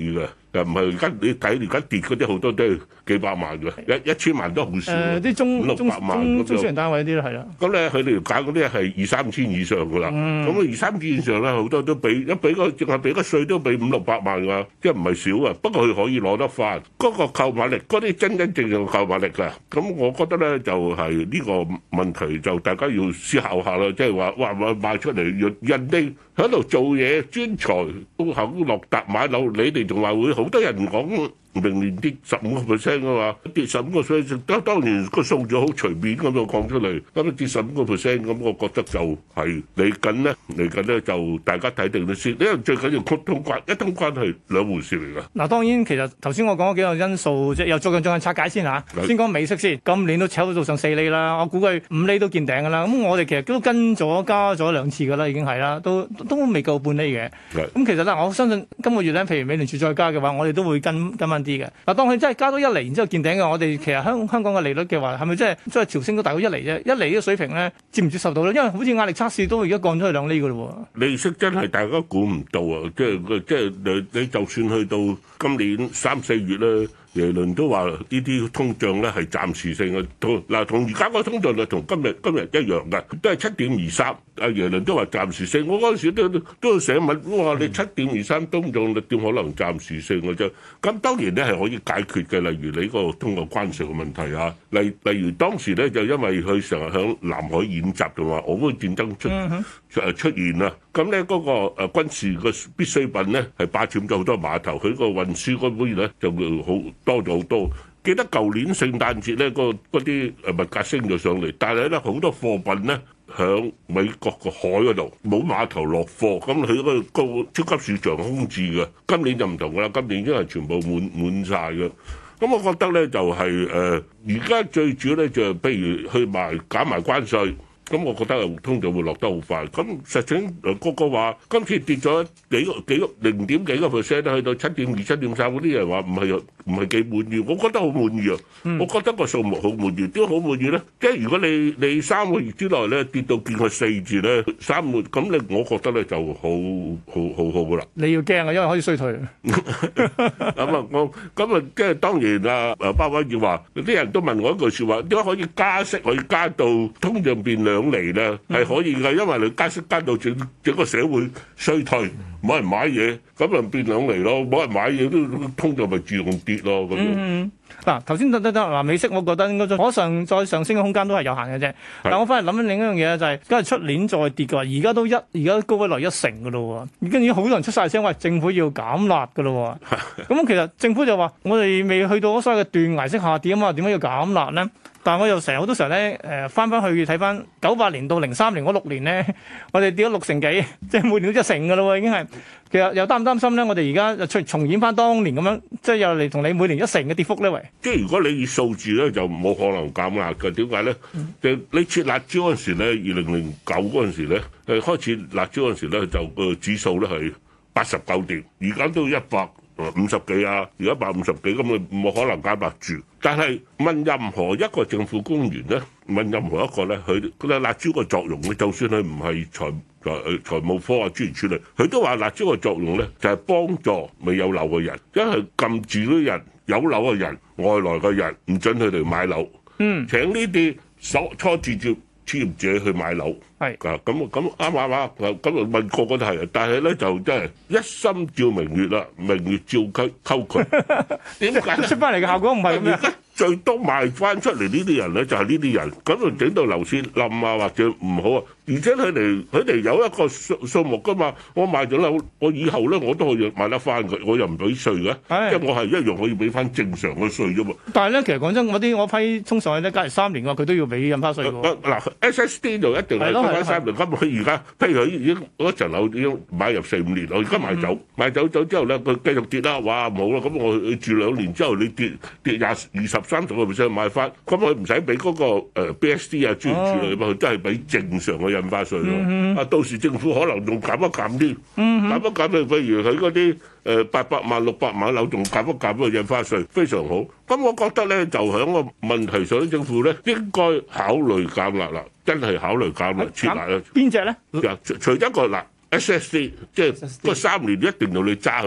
又唔係而家你睇而家跌嗰啲好多都係幾百萬嘅，一一千萬都好少。 誒啲中五六中百萬中咁就中小型單位啲咯，係啦。 咁咧佢哋揀嗰啲係二三千以上㗎啦。咁啊、 嗯、 二三千以上咧好多都俾一俾個淨係俾個稅都俾五六百萬㗎，即係唔係少啊？不過佢可以攞得翻嗰、嗰個購買力，嗰啲真真正正嘅購買力㗎。咁我覺得咧就係、是、呢個問題就大家要思考下啦，即係話哇哇賣出嚟人哋喺度做嘢專才都肯落達買樓，你哋仲話會好多人講明年跌十五個 percent 嘅話，跌十五個 percent，當當然個數字好隨便咁樣講出嚟，咁跌十五個 percent，咁我覺得就係嚟緊咧，嚟緊咧就大家睇定啲先，因為最緊要通關，一通關係兩回事嚟㗎。 嗱，當然其實頭先我講嗰幾個因素，即係又逐樣逐樣拆解先嚇。 是先講美息先，今年都炒到上四厘啦，我估計五厘都見頂㗎啦。咁我哋其實都跟咗加咗兩次㗎啦，已經係啦，都都未夠半厘嘅。咁是其實咧，我相信今個月咧，譬如美聯儲再加嘅話，我哋都會跟跟翻啲嘅。嗱，當佢真係加多一厘，然之後見頂嘅，我哋其實香香港嘅利率嘅話，係咪真係真係調升到大概一厘啫？一厘呢個水平咧，接唔接受到咧？因為好似壓力測試都而家降咗去兩厘㗎咯喎。 利息真係大家估唔到啊！即係即係你你就算去到今年三四月咧。耶倫都話呢啲通脹咧係暫時性嘅，同嗱同而家個通脹率同今日今日一樣嘅，都係七點二三。阿耶倫都話暫時性，我嗰陣時都都要寫文，我話你七點二三通脹率點可能暫時性嘅啫？咁當然咧係可以解決嘅，例如你個通過關稅嘅問題啊，例例如當時咧就因為佢成日響南海演習同埋俄烏戰爭出誒出現啦，咁咧嗰個誒軍事嘅必需品咧係霸佔咗好多碼頭，佢個運輸嗰邊咧就會好多咗好多。記得舊年聖誕節咧，嗰啲誒物價升咗上嚟，但係咧好多貨品咧響美國個海嗰度冇碼頭落貨，咁佢嗰個超級市場空置嘅。今年就唔同㗎啦，今年已經係全部滿滿曬嘅。咁我覺得咧就係誒，而家最主要咧就係譬如去埋減埋關稅。咁我覺得通脹會落得好快。咁實情誒個個話今次跌咗幾個幾個零點幾個 percent 去到七點二、七點三，嗰啲人話唔係唔係幾滿意。我覺得好滿意啊！嗯、我覺得個數目好滿意。點解好滿意咧？即係如果你你三個月之內咧跌到見個四字咧，三個咁你我覺得咧就好好好好噶啦。 你要驚啊，因為可以衰退。 咁啊，我咁啊，即係當然啊，誒鮑威爾話啲人都問我一句説話：點解可以加息可以加到通脹變兩？兩厘咧係可以嘅，因為你加息加到整整個社會衰退，冇人買嘢，咁咪變兩厘咯。冇人買嘢都通脹咪自動跌咯。咁樣嗱，頭先得得得嗱，美息我覺得應該可上再上升嘅空間都係有限嘅啫。但係我翻嚟諗緊另一樣嘢就係，假如出年再跌嘅話，而家都一而家高位來一成嘅咯喎，已經已經好多人出晒聲話政府要減辣嘅咯喎。咁其實政府就話我哋未去到所謂嘅斷崖式下跌啊嘛，點解要減辣咧？但係我又成日好多時候咧，誒翻翻去睇翻九八年到零三年嗰六年咧，我哋跌咗六成幾，即係每年都一成嘅咯喎，已經係。其實又擔唔擔心咧？我哋而家就重重演翻當年咁樣，即係又嚟同你每年一成嘅跌幅咧？喂， 即係如果你以數字咧，就冇可能減壓嘅。點解咧？嗯、就你設辣椒嗰陣時咧，二零零九嗰陣時咧，誒開始辣椒嗰陣時咧，就個指數咧係八十九點，而家都一百五十幾啊，而家一百五十幾，咁你冇可能減壓住。但係問任何一個政府官員咧，問任何一個咧，佢佢辣椒個作用咧，就算佢唔係財財財務科啊諸如此類，佢都話辣椒個作用咧就係幫助未有樓嘅人，因為撳住啲人有樓嘅人、外來嘅人，唔准佢哋買樓。嗯，請呢啲初初置業置業者去買樓。係啊，咁咁啱啱啱，咁問個個都係，但係咧就真係一心照明月啦，明月照溝溝渠。點解出翻嚟嘅效果唔係咁樣？ 最多賣翻出嚟呢啲人咧，就係呢啲人，咁就整到樓市冧啊，或者唔好啊。而且佢哋佢哋有一個數數目噶嘛，我賣咗樓，我以後咧我都可以買得翻佢，我又唔俾稅嘅，即係我係一樣可以俾翻正常嘅稅啫嘛。 但係咧，其實講真，我啲我批衝上去咧，假如三年嘅話，佢都要俾印花稅喎。 嗱 S S D 就一定係俾翻三年。咁佢而家譬如佢已經嗰層樓已經買入四五年，我而家賣走，賣走走之後咧，佢繼續跌啦，哇冇啦，咁我住兩年之後你跌跌廿二十三十個 percent 買翻，咁佢唔使俾嗰個誒 B S D 啊專業處理嘛，佢都係俾正常嘅印花稅咯。啊、嗯，到時政府可能仲減一減啲，嗯、減一減譬譬如佢嗰啲誒八百萬六百萬樓仲減一減個印花稅，非常好。咁我覺得咧，就喺個問題上，政府咧應該考慮減辣啦，真係考慮減辣撤辣啦。 邊隻咧？ 除除咗一個嗱 S S D，即係嗰三年一定要你揸喺度。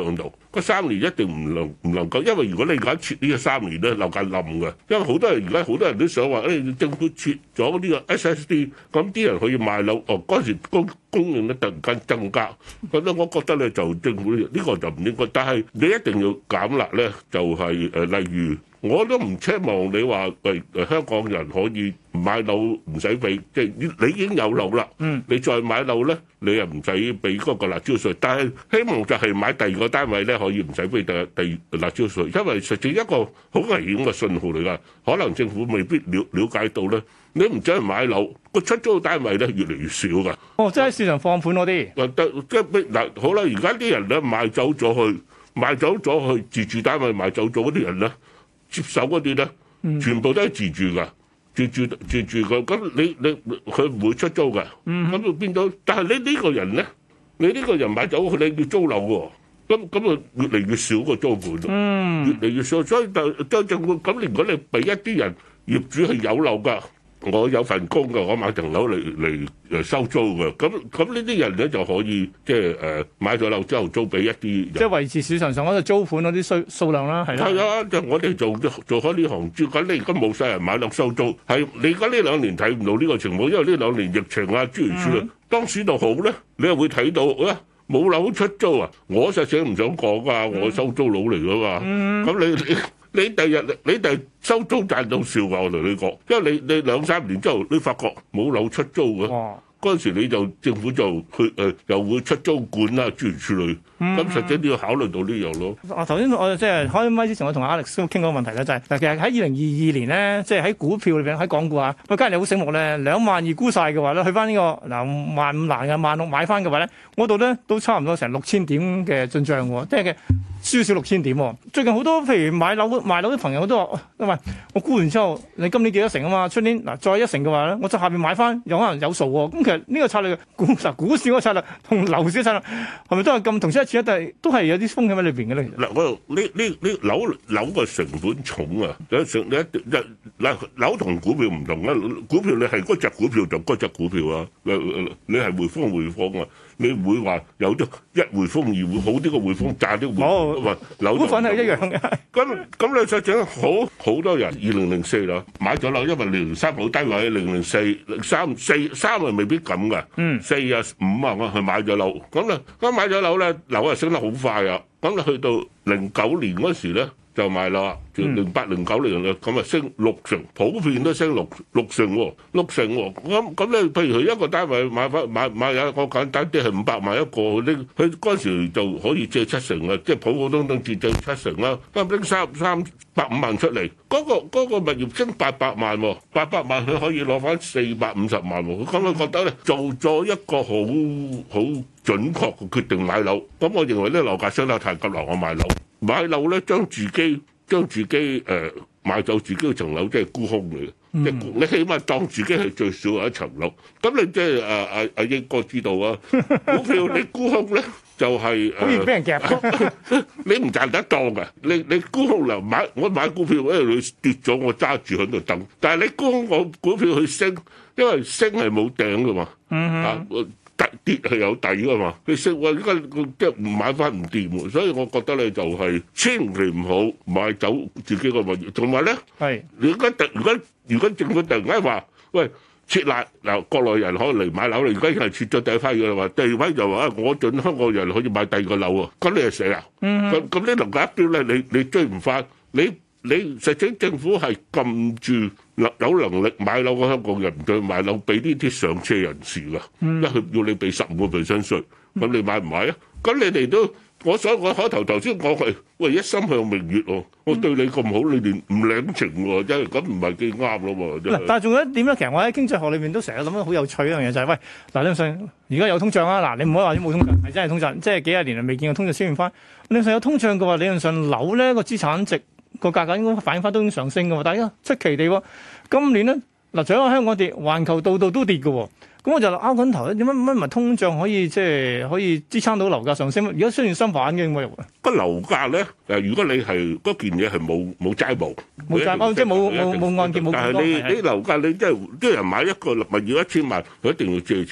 嗰三年一定唔能唔能夠，因為如果你而家撤呢個三年咧，樓價冧嘅，因為好多人而家好多人都想話，誒、哎、政府撤咗呢個 S S D， 咁啲人可以賣樓，哦嗰陣時供供應咧突然間增加，咁咧我覺得咧就政府呢、呢個就唔應該，但係你一定要減辣咧，就係、是、誒、呃、例如。我都唔奢望你話喂香港人可以買樓唔使俾，即係你已經有樓啦， 嗯、你再買樓咧，你又唔使俾嗰個辣椒稅。但係希望就係買第二個單位咧，可以唔使俾第第辣椒稅，因為實際一個好危險嘅信號嚟㗎。可能政府未必了了解到咧，你唔走去買樓，個出租單位咧越嚟越少㗎。 哦，即係喺市場放盤嗰啲。 誒得即係嗱，好啦，而家啲人咧賣走咗去，賣走咗去自住單位賣走咗嗰啲人咧。接手嗰啲咧，全部都係自住噶，自住自住嘅。咁你你佢唔會出租嘅，咁就變咗。但係你呢個人咧，你呢個人買走佢，你要租樓喎，咁咁啊越嚟越少個租盤，嗯、越嚟越少。所以就就政府咁，如果你俾一啲人業主係有樓㗎。我有份工嘅，我買層樓嚟嚟誒收租嘅，咁咁呢啲人咧就可以即係誒買咗樓之後租俾一啲人， 即係維持市場上嗰個租盤嗰啲數數量啦，係啦。 係啊，就我哋做做開呢行，照緊你而家冇晒人買樓收租，係你而家呢兩年睇唔到呢個情況，因為呢兩年疫情啊諸如此類，當時就好咧，你又會睇到啊冇樓出租啊，我實際唔想講㗎，我收租佬嚟㗎嘛，咁、嗯、你你。你第日你第日收租賺到笑㗎，我同你講，因為你你兩三年之後，你發覺冇樓出租嘅，嗰陣時你就政府就去誒、呃、又會出租管啦，諸如此類。咁、嗯、實際你要考慮到呢樣咯。 啊，頭先我即係開麥之前，我同 Alex 都傾過個問題咧，就係、是、嗱，其實喺二零二二年咧，即係喺股票裏邊喺港股啊，喂，假如你好醒目咧，兩萬二沽晒嘅話咧，去翻呢、這個嗱萬五難嘅萬六買翻嘅話咧，嗰度咧都差唔多成六千點嘅進帳喎，即係嘅。輸少六千點喎，最近好多譬如買樓賣樓啲朋友都話，喂，我沽完之後，你今年幾多成啊嘛？出年嗱再一成嘅話咧，我就下邊買翻，有可能有數喎。咁其實呢個策略，股嗱股市嗰個策略同樓市嘅策略係咪都係咁同出一轍？但係都係有啲風險喺裏邊嘅咧。 嗱，我呢呢呢樓樓個成本重啊，有成你一一嗱樓同股票唔同啊，股票你係嗰隻股票就嗰隻股票啊，你係匯豐匯豐啊。你唔會話有啲一匯豐二匯好啲嘅匯豐賺啲匯豐，話樓股份係一樣嘅。 咁咁你實際好好多人二零零四啦買咗樓，因為零零三好低位，零零四零三四三啊未必咁嘅，嗯，四啊五啊我去買咗樓，咁咧咁買咗樓咧樓啊升得好快啊，咁你去到零九年嗰時咧。就賣啦，就零八零九年啦，咁啊升六成，普遍都升六六成喎，六成喎。咁咁咧，譬如佢一個單位買翻買買有一個簡單啲係五百萬一個，拎佢嗰陣時就可以借七成啊，即係普普通通借借七成啦。咁拎三三百五萬出嚟，嗰個嗰個物業升八百萬喎，八百萬佢可以攞翻四百五十萬喎。咁我覺得咧，做咗一個好好準確嘅決定買樓。咁我認為咧樓價升得太急啦，我買樓。買樓咧，將自己將自己誒、呃、買走自己嘅層樓，即係沽空嚟嘅。嗯、即係你起碼當自己係最少有一層樓。咁你即係誒阿阿英哥知道啊？股票你沽空咧就係、是、 好易俾人夾。 你唔賺得當㗎。你你沽空嚟買，我買股票，因為佢跌咗，我揸住喺度等。但係你沽空我股票去升，因為升係冇頂㗎嘛。嗯、啊跌係有底㗎嘛，你識話而家即係唔買翻唔掂喎，所以我覺得咧就係千祈唔好買走自己個物業，同埋咧，係你而家突如果如果政府突然間話喂撤辣嗱，國內人可以嚟買樓，你而家係撤咗第一批嘅話，第二批就話我準香港人可以買第二個樓喎，咁你係死啊！咁咁呢樓價一飆咧，你你追唔翻你。你實際政府係撳住有能力買樓嘅香港人唔再買樓，俾呢啲上車人士㗎，因為要你俾十五個 percent 稅，咁你買唔買啊？咁你哋都，我所我開頭頭先講係，喂一心向明月喎，我對你咁好，你連唔領情喎，真係咁唔係幾啱咯喎。嗱， 但係仲有一點咧，其實我喺經濟學裏面都成日諗得好有趣一樣嘢，就係喂，嗱你信而家有通脹啊，嗱你唔好話啲冇通脹，係真係通脹，即係幾廿年嚟未見過通脹出現翻。理論上有通脹嘅話，理論上樓咧個資產值。個價格應該反映翻都已經上升嘅喎，但係出奇地喎，今年咧嗱，除咗香港跌，環球度度都跌嘅喎，咁我就拗緊頭咧，點解乜唔係通脹可以即係可以支撐到樓價上升？而家雖然相反嘅咁樣。 個樓價咧誒，如果你係嗰件嘢係冇冇債務， 冇債務即係冇冇冇按揭冇。 但係你你樓價你即係啲人買一個物業一千萬，佢一定要借錢。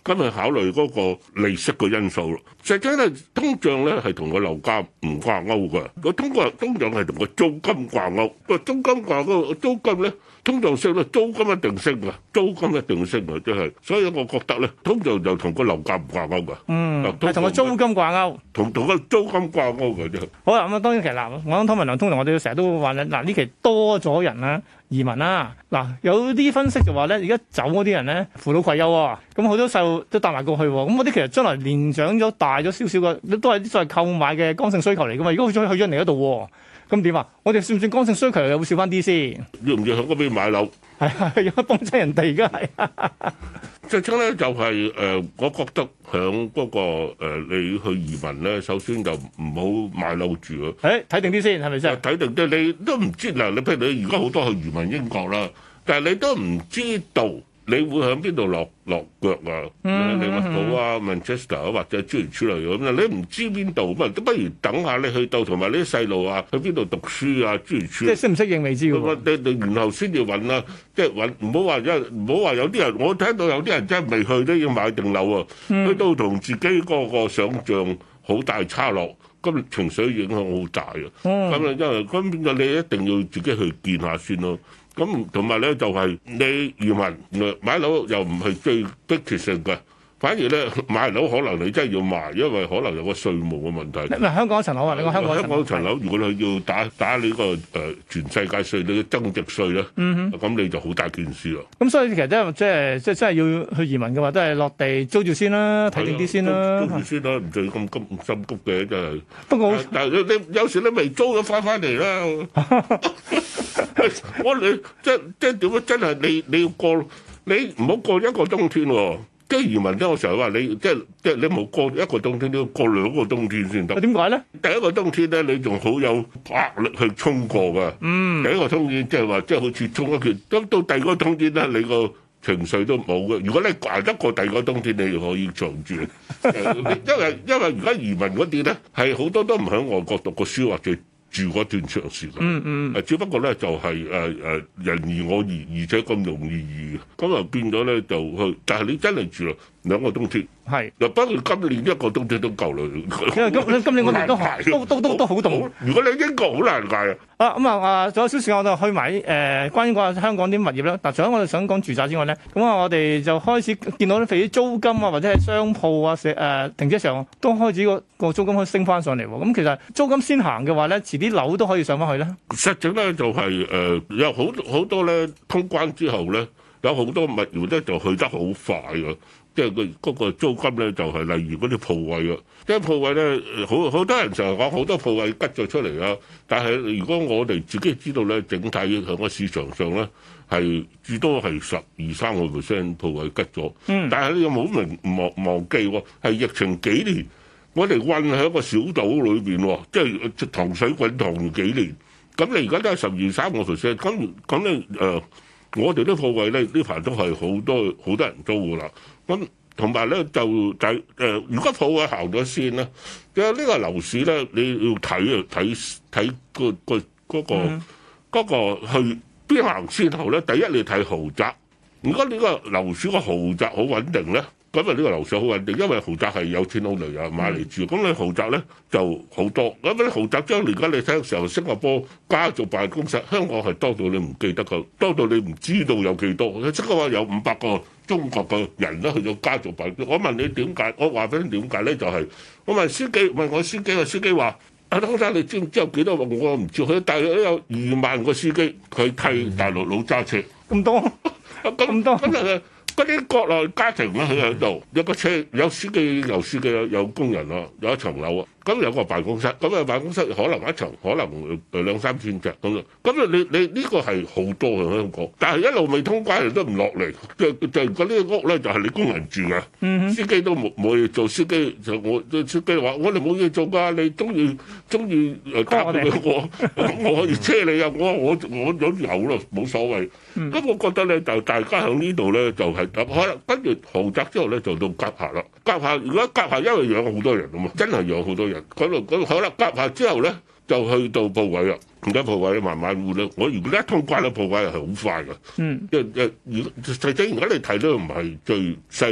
咁去考慮嗰個利息嘅因素咯。實際咧，通脹咧係同個樓價唔掛鈎嘅，個通過通脹係同個租金掛鈎。個租金掛鈎，租金咧通脹升咧，租金一定升嘅，租金一定升嘅，即係。所以我覺得咧，通脹就同個樓價唔掛鈎嘅。 嗯，係同個租金掛鈎， 同同個租金掛鈎嘅啫。 好啦，咁啊當然其實嗱，我諗湯文亮通常我哋成日都話咧，嗱呢期多咗人啦。移民啦，嗱有啲分析就話咧，而家走嗰啲人咧扶老攜幼喎，咁好多細路都帶埋過去喎，咁嗰啲其實將來年長咗大咗少少嘅，都係啲所謂購買嘅剛性需求嚟噶嘛。如果佢再去咗人哋嗰度，咁點啊？我哋算唔算剛性需求又會少翻啲先？ 要唔要喺嗰邊買樓？ 係啊，要幫襯人哋而家係。 最初咧就係、是、誒、呃，我覺得響嗰、那個、呃、你去移民咧，首先就唔好買樓住啊。 誒，睇定啲先，係咪先？ 睇定啲，你都唔知嗱，你譬如你而家好多去移民英國啦，但係你都唔知道。你會喺邊度落落腳啊？利物浦啊、Manchester 啊，或者諸如此類咁啊，你唔知邊度咁啊，都不如等下你去到，同埋呢啲細路啊，去邊度讀書啊，諸如此類。 即係適唔適應未知嘅喎。 你你然後先至揾啦，即係揾唔好話因唔好話有啲人，我聽到有啲人真係未去都要買定樓啊，去到同自己嗰個想像好大差落，咁情緒影響好大啊。咁啊，因為咁變咗你一定要自己去見下先咯。咁同埋咧就係你移民買樓又唔係最迫切性嘅，反而咧買樓可能你真係要賣，因為可能有個稅務嘅問題。 唔係香港一層樓啊，你講香港香港層樓，如果你要打打你個誒全世界稅，你嘅增值稅咧，咁、嗯、你就好大件事咯。 咁所以其實真係即係即係真係要去移民嘅話，都係落地租住先啦，睇定啲先啦。 租住先啦，唔使咁急心急嘅真係。 不過， 但係你有時你未租咗翻翻嚟啦。我你即即點樣？真係你你要過，你唔好過一個冬天喎。即係移民咧，我成日話你即即你冇過一個冬天，你要過兩個冬天先得。點解咧？第一個冬天咧，你仲好有壓力去衝過㗎。嗯。第一個冬天即係話，即係好似衝一拳。咁到第二個冬天咧，你個情緒都冇嘅。如果你捱得過第二個冬天，你就可以長住。因為因為而家移民嗰啲咧，係好多都唔喺外國讀過書或者住嗰段長時間，嗯嗯，只不過咧就係誒誒人移我移，而且咁容易移，咁啊變咗咧就去，但係你真係住啦兩個冬天，係，嗱不過今年一個冬天都夠啦，因為今今年我哋都都都都都好凍，如果你英國好難捱啊，啊咁啊啊，仲有少少時間我就去埋誒、呃、關於個香港啲物業啦。嗱，除咗我哋想講住宅之外咧，咁啊我哋就開始見到啲譬如租金啊，或者係商鋪啊、誒、呃、停車場都開始個個租金可以升翻上嚟喎。咁其實租金先行嘅話咧，遲啲樓都可以上翻去咧。實際咧就係、是、誒、呃、有好好多咧通關之後咧，有好多物業咧就去得好快㗎。即係佢嗰個租金咧，就係、是、例如嗰啲鋪位啊，即係鋪位咧，好好多人成日講好多鋪位吉咗出嚟啊。但係如果我哋自己知道咧，整體喺個市場上咧係至多係十二三個 percent 鋪位吉咗。嗯。但係你有冇明忘忘記喎？係疫情幾年，我哋困喺一個小島裏邊喎，即係糖水滾糖幾年。咁你而家都係十二三個 percent，咁咁咧誒，我哋啲鋪位咧呢排都係好多好多人租㗎啦。咁同埋咧就就誒、呃，如果鋪位行咗先咧，因為呢個樓市咧，你要睇啊睇睇個個嗰個嗰個去邊行先後咧。第一你睇豪宅，如果呢個樓市個豪宅好穩定咧，咁啊呢個樓市好穩定，因為豪宅係有錢佬嚟啊買嚟住，咁、嗯、你豪宅咧就好多。咁啲豪宅將而家你睇嘅時候，新加坡家族辦公室，香港係多到你唔記得㗎，多到你唔知道有幾多。即係話有五百個中國嘅人都去咗家族辦公室。我問你點解？我話俾你點解咧？就係、是、我問司機，問我司機，個司機話：阿湯生，你知唔知有幾多？我唔知。佢大約都有二萬個司機，佢替大陸佬揸車。咁多？咁多？咁啊！嗰啲國內家庭咧，佢喺度有個車，有司機，有司機，有工人咯，有一層樓啊。咁有個辦公室，咁啊辦公室可能一層，可能誒兩三千尺咁啊。咁啊，你你呢個係好多嘅香港，但係一路未通關，都唔落嚟。就就嗰啲屋咧，就係你工人住嘅，嗯、司機都冇冇嘢做。司機就我司機話：我哋冇嘢做㗎，你中意中意誒搭我，我我可以車你啊！我我我有有咯，冇所謂。咁、嗯、我覺得咧，就大家喺呢度咧，就係可能跟住豪宅之後咧，就到甲廈啦。甲廈如果甲廈因為養好多人啊嘛，真係養好多人。嗰度嗰好啦，夾下之後咧，就去到鋪位啦。而家鋪位慢慢換啦。我如果一通關咧，鋪位係好快㗎。嗯。即即如實際而家你睇都唔係最犀利，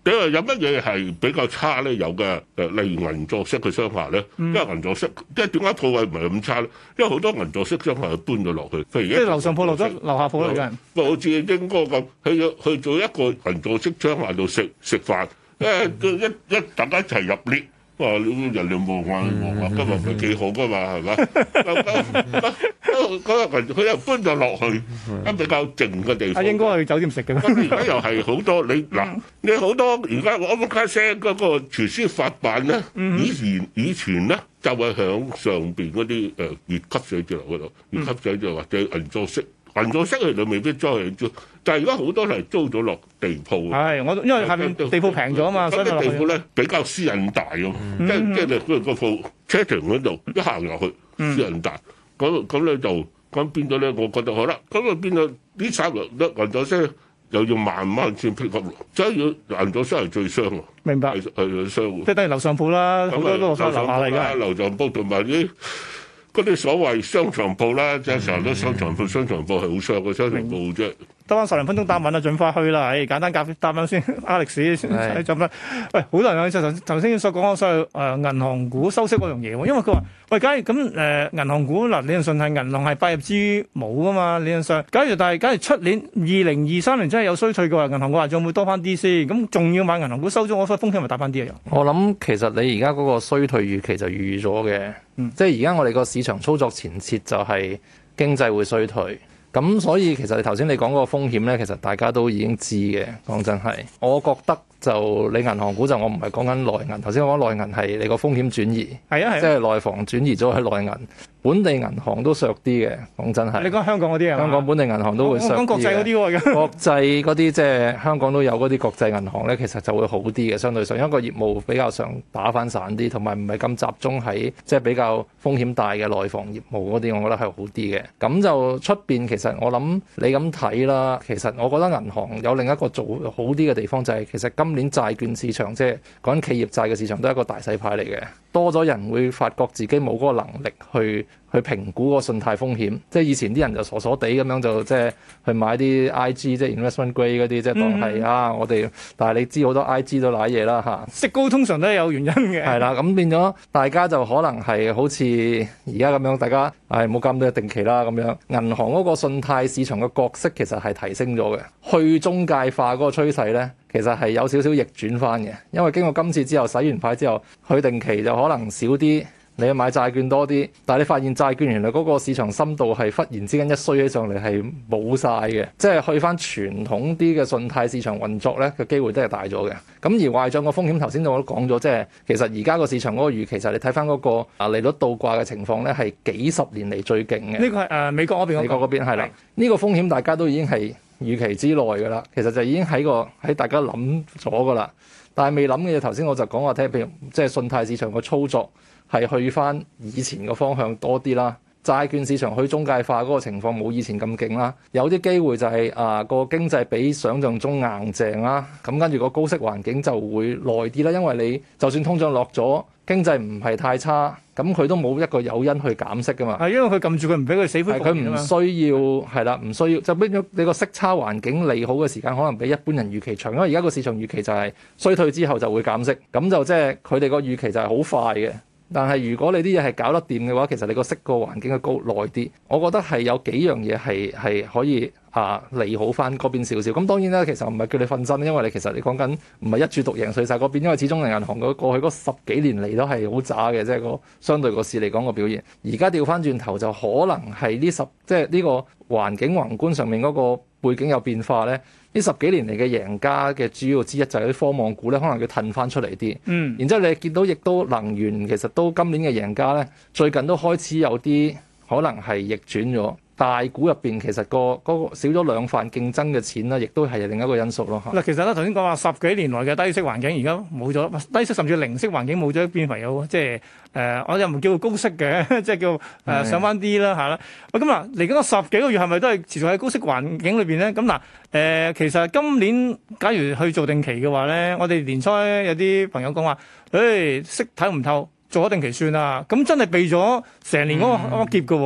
你話有乜嘢係比較差咧？有嘅誒，例如銀座式嘅商廈咧，因為銀座式即係點解鋪位唔係咁差咧？因為好多銀座式商廈搬咗落去，譬如即係樓上鋪落咗樓下鋪嚟嘅。 好似英哥咁，去咗去做一個銀座式商廈度食食飯，誒一一大家一齊入 lift。哇！人哋望下望下，今日咪幾好噶嘛，係咪？嗰嗰日佢又搬咗落去，一比較靜嘅地方。 阿英哥去酒店食嘅咩？ 而家又係好多你嗱，你好多而家我冇卡聲嗰個廚師發辦咧，以前以前咧就係響上邊嗰啲誒乙級寫字樓嗰度，乙級寫字樓或者銀座式。銀座式佢哋未必租去租，但係而家好多係租咗落地鋪。 係，我因為下面地鋪平咗啊嘛，所以地鋪咧比較私隱大咯，即係即係你嗰個鋪車停嗰度一行入去私隱大，咁咁咧就咁變咗咧，我覺得好啦，咁啊變咗呢三日咧銀座式又要慢慢先 pick up，所以要銀座式係最傷啊！ 明白， 係係傷。 即係等於樓上鋪啦，好多都係樓下嚟㗎。 樓上鋪同埋啲。嗰啲所謂商場鋪啦，即係成日都商場鋪，商場鋪係好傷嘅商場鋪啫。得翻十零分鐘答問啊，盡快去啦！誒，簡單答答問先 ，Alex 先就乜？喂，好多人就頭頭先所講嗰所謂誒銀行股收息嗰樣嘢喎，因為佢話喂，假如咁誒銀行股嗱，理論上係銀行係百業之母噶嘛，理論上，假如但係假如出年二零二三年真係有衰退嘅話，銀行股話仲會多翻啲先，咁仲要買銀行股收咗，我覺得風險咪大翻啲啊？ 我諗其實你而家嗰個衰退預期就預咗嘅，嗯、即係而家我哋個市場操作前設就係經濟會衰退。咁所以其實你頭先你講嗰個風險咧，其實大家都已經知嘅。講真係，我覺得就你銀行股就我唔係講緊內銀。頭先我講內銀係你個風險轉移，係啊係，即係內房轉移咗去內銀，本地銀行都削啲嘅。講真係， 你講香港嗰啲啊？ 香港本地銀行都會削啲嘅。 我講國際嗰啲喎， 國際嗰啲即係香港都有嗰啲國際銀行咧，其實就會好啲嘅。相對上，因為個業務比較上打翻散啲，同埋唔係咁集中喺即係比較風險大嘅內房業務嗰啲，我覺得係好啲嘅。咁就出邊其實我諗你咁睇啦，其實我覺得銀行有另一個做好啲嘅地方就係、是、其實今年債券市場即係講緊企業債嘅市場都係一個大洗牌嚟嘅，多咗人會發覺自己冇嗰個能力去去評估個信貸風險，即係以前啲人就傻傻地咁樣就即係去買啲 I G 即係 investment grade 嗰啲，即係當係、嗯、啊我哋，但係你知好多 I G 都瀨嘢啦嚇， 息高通常都係有原因嘅。 係啦，咁變咗大家就可能係好似而家咁樣，大家係冇咁多定期啦咁樣，銀行嗰個信貸市場嘅角色其實係提升咗嘅，去中介化嗰個趨勢咧，其實係有少少逆轉翻嘅，因為經過今次之後洗完牌之後，去定期就可能少啲。你去買債券多啲，但係你發現債券原來嗰個市場深度係忽然之間一衰起上嚟係冇晒嘅，即係去翻傳統啲嘅信貸市場運作咧嘅機會都係大咗嘅。咁而壞帳個風險頭先我都講咗，即係其實而家個市場嗰個預期就係你睇翻嗰個啊利率倒掛嘅情況咧係幾十年嚟最勁嘅。 呢個係誒、呃、美國嗰邊， 美國嗰邊係啦，呢個風險大家都已經係預期之內㗎啦。其實就已經喺個喺大家諗咗㗎啦，但係未諗嘅嘢頭先我就講話聽，譬如即係信貸市場個操作。係去翻以前個方向多啲啦，債券市場去中介化嗰個情況冇以前咁勁啦，有啲機會就係、是、啊個經濟比想像中硬淨啦，咁跟住個高息環境就會耐啲啦，因為你就算通脹落咗，經濟唔係太差，咁佢都冇一個誘因去減息噶嘛。係因為佢撳住佢唔俾佢死灰復燃， 佢唔需要係啦，唔需要就變咗你個息差環境利好嘅時間可能比一般人預期長，因為而家個市場預期就係衰退之後就會減息，咁就即係佢哋個預期就係好快嘅。但係如果你啲嘢係搞得掂嘅話，其實你個息個環境嘅高耐啲，我覺得係有幾樣嘢係係可以啊利好翻嗰邊少少。咁當然啦，其實唔係叫你瞓身，因為你其實你講緊唔係一注獨贏碎晒嗰邊，因為始終銀行嗰過去嗰十幾年嚟都係好渣嘅，即係個相對個市嚟講個表現。而家調翻轉頭就可能係呢十即係呢個環境宏觀上面嗰個背景有變化咧。呢十幾年嚟嘅贏家嘅主要之一就係啲科網股咧，可能要褪翻出嚟啲。嗯，然之後你見到亦都能源其實都今年嘅贏家咧，最近都開始有啲可能係逆轉咗。大股入邊其實個嗰個少咗兩份競爭嘅錢啦，亦都係另一個因素咯。 嗱，其實咧頭先講話十幾年來嘅低息環境，而家冇咗低息，甚至零息環境冇咗，變為有即係誒，我又唔叫做高息嘅，即係叫誒、呃、上翻啲啦嚇啦。喂，咁嗱嚟緊個十幾個月係咪都係持續喺高息環境裏邊咧？咁嗱誒，其實今年假如去做定期嘅話咧，我哋年初有啲朋友講話，誒、欸、息睇唔透。做咗定期算啦，咁真係避咗成年嗰個嗰個劫嘅喎。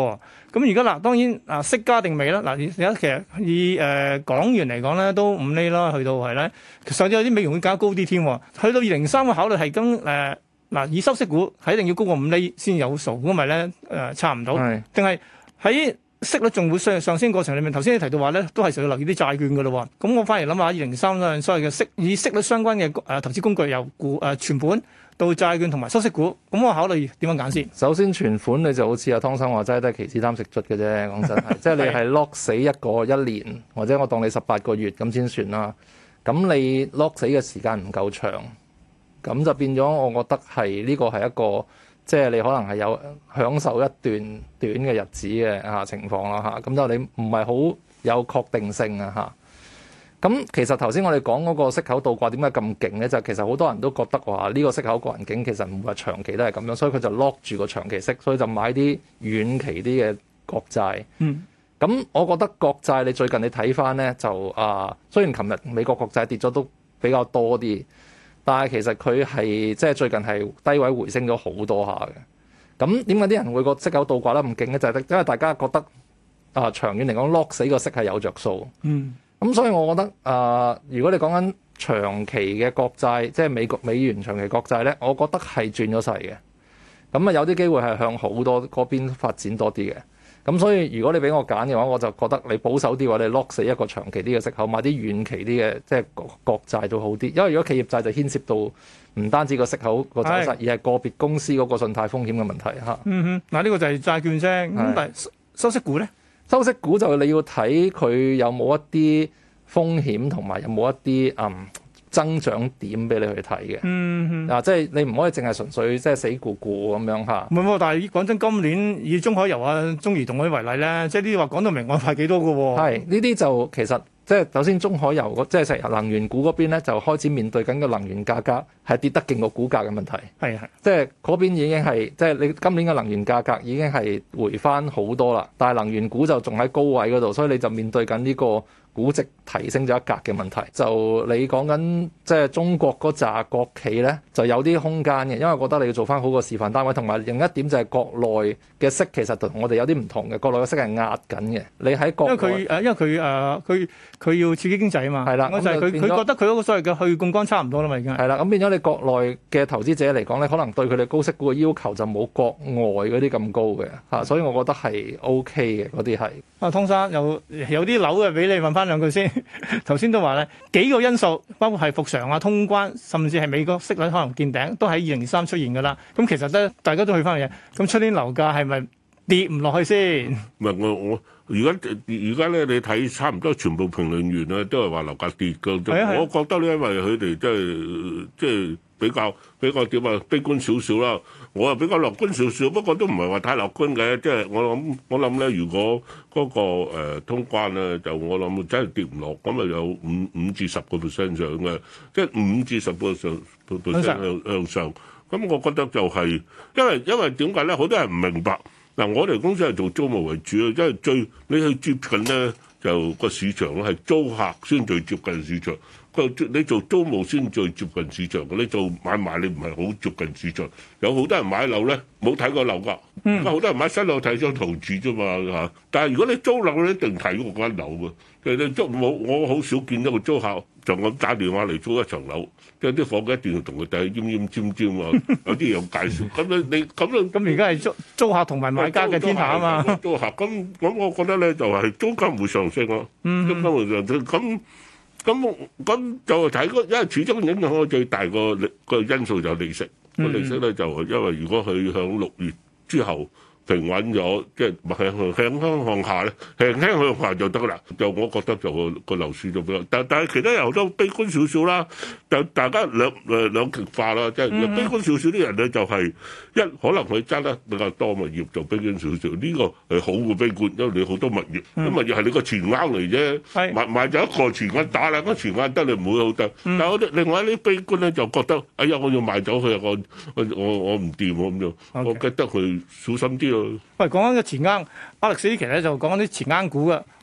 咁而家嗱，當然啊息加定未啦？嗱，而家其實以誒、呃、港元嚟講咧，都五厘啦，去到係咧，甚至有啲美元會加高啲添。去到二零三嘅考慮係跟誒嗱，以收息股係一定要高過五厘先有數，咁咪咧誒差唔到，定係喺息率仲會上上升過程裏面？頭先你提到話咧，都係需要留意啲債券嘅咯。咁我反而諗下二零三咧，所謂嘅息以息率相關嘅誒、呃、投資工具由股誒存款到債券同埋收息股，咁我考慮點樣揀先？ 首先存款你就好似阿湯生話齋，都係期指貪食卒嘅啫。講真係，即係你係 lock 死一個一年，或者我當你十八個月咁先算啦。咁你 lock 死嘅時間唔夠長，咁就變咗我覺得係呢個係一個。即係你可能係有享受一段短嘅日子嘅嚇情況啦嚇，咁就你唔係好有確定性啊嚇。咁其實頭先我哋講嗰個息口倒掛點解咁勁咧？就其實好多人都覺得話呢個息口環境其實唔會話長期都係咁樣，所以佢就 lock 住個長期息，所以就買啲遠期啲嘅國債。嗯。咁我覺得國債你最近你睇翻咧就啊，雖然琴日美國國債跌咗都比較多啲。但係其實佢係即係最近係低位回升咗好多下嘅。咁點解啲人會個息口倒掛得咁勁咧？就係、是、因為大家覺得啊、呃、長遠嚟講 lock 死個息係有着數。嗯。咁所以我覺得啊、呃，如果你講緊長期嘅國債，即係美國美元長期國債咧，我覺得係轉咗勢嘅。咁啊有啲機會係向好多嗰邊發展多啲嘅。咁所以如果你俾我揀嘅話，我就覺得你保守啲嘅話，你 lock 死一個長期啲嘅息口，買啲遠期啲嘅即係國債都好啲。因為如果企業債就牽涉到唔單止個息口個走勢，而係個別公司嗰個信貸風險嘅問題嚇。嗯哼， 嗱呢個就係債券啫。咁但係收息股咧， 收息股就你要睇佢有冇一啲風險同埋有冇一啲嗯。增長點俾你去睇嘅，嗯，嗱、啊，即係你唔可以淨係純粹即係死咕咕咁樣嚇。 唔係喎，但係講真，今年以中海油啊、中移動嗰啲為例咧，即係呢啲話講到明我派幾多嘅喎。 係呢啲就其實即係首先中海油即係石油能源股嗰邊咧，就開始面對緊個能源價格係跌得勁過股價嘅問題。係係，即係嗰邊已經係即係你今年嘅能源價格已經係回翻好多啦，但係能源股就仲喺高位嗰度，所以你就面對緊呢個估值提升咗一格嘅問題，就你講緊即係中國嗰紮國企咧，就有啲空間嘅，因為我覺得你要做翻好個示範單位，同埋另一點就係國內嘅息其實同我哋有啲唔同嘅，國內嘅息係壓緊嘅。你喺國內， 因為佢誒，因為佢誒，佢佢要刺激經濟啊嘛。係啦，就係佢佢覺得佢嗰個所謂嘅去槓桿差唔多啦嘛，已經係啦。咁變咗你國內嘅投資者嚟講咧，可能對佢哋高息股嘅要求就冇國外嗰啲咁高嘅嚇，所以我覺得係 O K 嘅嗰啲係。 啊，湯生有有啲樓嘅俾你問翻兩句先。頭先都話咧幾個因素，包括係復常啊、通關，甚至係美國息率可能見頂，都喺二零二三出現㗎啦。咁其實咧，大家都去翻嘅嘢。咁出年樓價係咪跌唔落去先？ 唔係我我而家而家咧，你睇差唔多全部評論員咧都係話樓價跌㗎。係啊係啊，我覺得咧，因為佢哋即係即係比較比較點啊悲觀少少啦。我又比較樂觀少少，不過都唔係話太樂觀嘅。即係我諗，我諗咧，如果嗰個誒通關咧，就我諗真係跌唔落，咁啊有五五至十個 percent 上嘅，即係五至十個上 percent 向向上。咁我覺得就係，因為因為點解咧？好多人唔明白嗱，我哋公司係做租務為主啊，因為最你去接近咧，就個市場咧係租客先最接近市場。你做租務先最接近市場嘅，你做買賣你唔係好接近市場。有好多人買樓咧冇睇過樓㗎，而家好多人買新樓睇張圖紙啫嘛嚇。但係如果你租樓咧，一定睇過嗰間樓嘅。其實你租冇，我好少見一個租客就咁打電話嚟租一層樓，即係啲伙計一定要同佢睇奄奄尖尖啊，有啲有介紹。咁你你咁樣咁而家係租租客同埋買家嘅天下啊嘛。 租客咁咁，我覺得咧就係租金會上升咯，租金會上升咁。咁咁就睇嗰，因為始終影響我最大個個因素就係利息。個、嗯、利息咧就因為如果佢響六月之後平穩咗，即係向向向向下咧，輕輕向下就得啦。就我覺得就個個樓市就比較，但但係其他人都悲觀少少啦。就大家兩誒兩極化啦，即係悲觀少少啲人咧就係、是、一可能佢揸得比較多物業就悲觀少少，呢、這個係好嘅悲觀，因為你好多物業，咁物業係你個錢罌嚟啫，買買咗一個錢罌打爛個錢罌得你唔會好得。但係我哋另外一啲悲觀咧就覺得，哎呀我要賣走佢，我我我我唔掂咁樣，我覺得佢小心啲咯。 喂，講緊個錢罌，Alex 呢期咧就講緊啲錢罌股嘅。咁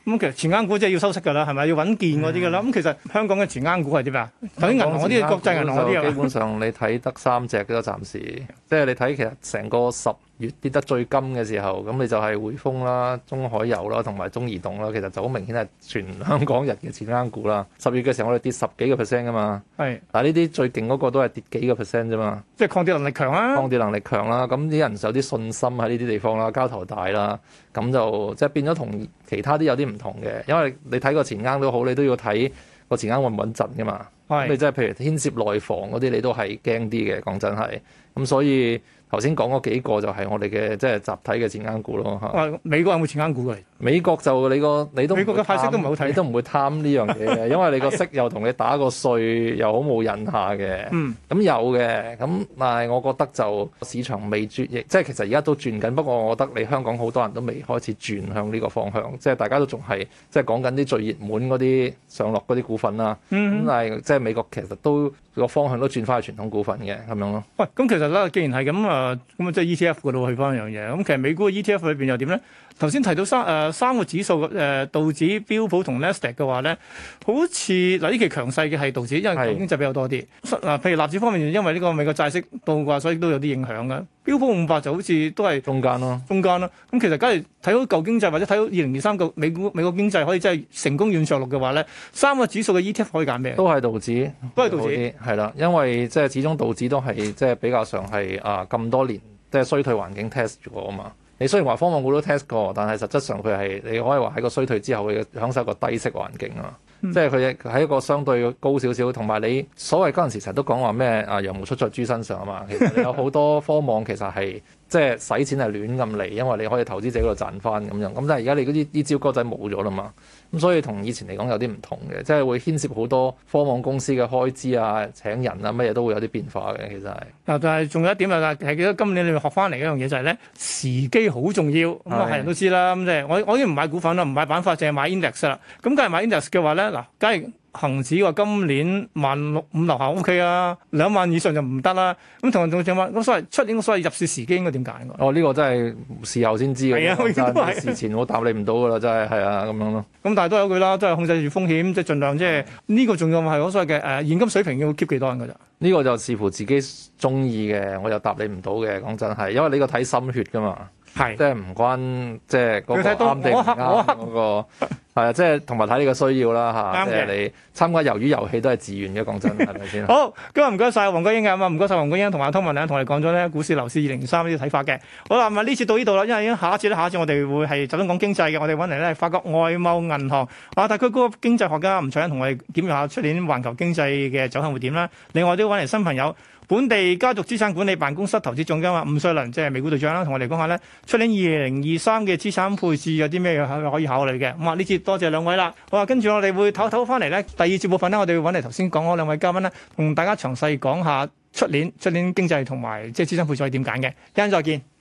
咁其實前間股即係要收息㗎啦，係咪要穩健嗰啲㗎啦？咁、嗯、其實香港嘅前間股係點啊？頭先銀行嗰啲國際銀行嗰啲啊， 基本上你睇得三隻嘅都暫時，即係你睇其實成個十月跌得最金嘅時候，咁你就係匯豐啦、中海油啦同埋中移動啦，其實就好明顯係全香港人嘅前間股啦。十月嘅時候我哋跌十幾個 percent 㗎嘛，係，但係呢啲最勁嗰個都係跌幾個 percent 啫嘛， 即係抗跌能力強啦， 抗跌能力強啦，咁啲人有啲信心喺呢啲地方啦，交投大啦，咁就即係變咗同其他啲有啲唔同嘅，因為你睇個前間都好，你都要睇個前間穩唔穩陣㗎嘛，咁你即係譬如牽涉內房嗰啲，你都係驚啲嘅，講真係，咁所以。頭先講嗰幾個就係我哋嘅即係集體嘅前間股咯嚇。 美國有冇前間股㗎？ 美國就你個你都美國嘅派息都唔好睇， 你都唔會貪呢樣嘢嘅，因為你個息又同你打個稅又好冇癮下嘅。嗯，咁有嘅，咁但係我覺得就市場未轉，即係其實而家都轉緊。不過我覺得你香港好多人都未開始轉向呢個方向，即係大家都仲係即係講緊啲最熱門嗰啲上落嗰啲股份啦。嗯，咁但係即係美國其實都個方向都轉翻去傳統股份嘅咁樣咯。 喂，咁其實咧，既然係咁啊，咁啊即係 E T F 嗰度去翻一樣嘢。咁其實美股嘅 E T F 裏邊又點咧？頭先提到三誒、呃、三個指數誒、呃、道指、標普同 Nasdaq 嘅話咧，好似嗱呢期強勢嘅係道指，因為經濟比較多啲。嗱，譬如納指方面，因為呢個美國債息倒掛，所以都有啲影響嘅。標普五百就好似都係中間咯， 中間咯。咁其實假如睇到舊經濟或者睇到二零二三個美股美國經濟可以真係成功軟着陸嘅話咧，三個指數嘅 E T F 可以揀咩？ 都係道指， 都係道指， 係啦，因為即係始終道指都係即係比較上係啊咁多年即係衰退環境 test 過啊嘛。你雖然話科網股都 test 過，但係實質上佢係你可以話喺個衰退之後佢享受一個低息環境啊。嗯、即係佢喺一個相對高少少，同埋你所謂嗰陣時成日都講話咩啊羊毛出在豬身上啊嘛。其實你有好多科網其實係即係使錢係亂咁嚟，因為你可以投資者嗰度賺翻咁樣。咁但係而家你嗰啲啲招哥仔冇咗啦嘛。咁所以同以前嚟講有啲唔同嘅，即係會牽涉好多科網公司嘅開支啊、請人啊乜嘢都會有啲變化嘅。其實係嗱，但係仲有一點啊，係記得今年你學翻嚟一樣嘢就係咧時機好重要。咁啊係人都知啦。咁即係我我已經唔買股份啦，唔買板塊，淨係買 index 啦。咁梗係買 index 嘅話咧，嗱，假如恒指話今年萬六五樓下 O K 啊，兩萬以上就唔得啦。咁同同仲話咁所謂出年所謂入市時機應該點揀？ 哦，呢、這個真係事後先知嘅， 係啊， 事前我答你唔到噶啦，真係係啊咁樣咯。 咁但係都有句啦，都係控制住風險，即係盡量即係呢個仲要係我所謂嘅誒現金水平要 keep 幾多人㗎咋？ 呢個就視乎自己中意嘅，我又答你唔到嘅。講真係，因為呢個睇心血㗎嘛，係即係唔關即係嗰個啱定唔啱嗰個。係啊，即係同埋睇你嘅需要啦嚇，即係你參加魷魚遊戲都係自願嘅，講真係咪先？ 好，今日唔該晒黃國英嘅，咁啊唔該晒黃國英同埋湯文亮同我哋講咗咧股市、樓市二零二三呢啲睇法嘅。好啦，咁啊呢次到呢度啦，因為下一次咧，下一次我哋會係集中講經濟嘅，我哋揾嚟咧法國外貿銀行亞太區嗰個經濟學家吳卓殷同我哋檢驗下出年環球經濟嘅走向會點啦。另外都揾嚟新朋友。本地家族資產管理辦公室投資總監啊，伍瑞麟即係美股隊長啦，同我哋講下咧，出年二零二三嘅資產配置有啲咩可以考慮嘅。咁啊，呢次多謝兩位啦。好啊，跟住我哋會唞唞翻嚟咧，第二節部分咧，我哋會揾嚟頭先講嗰兩位嘉賓咧，同大家詳細講下出年出年經濟同埋即係資產配置可以點揀嘅。一陣再見。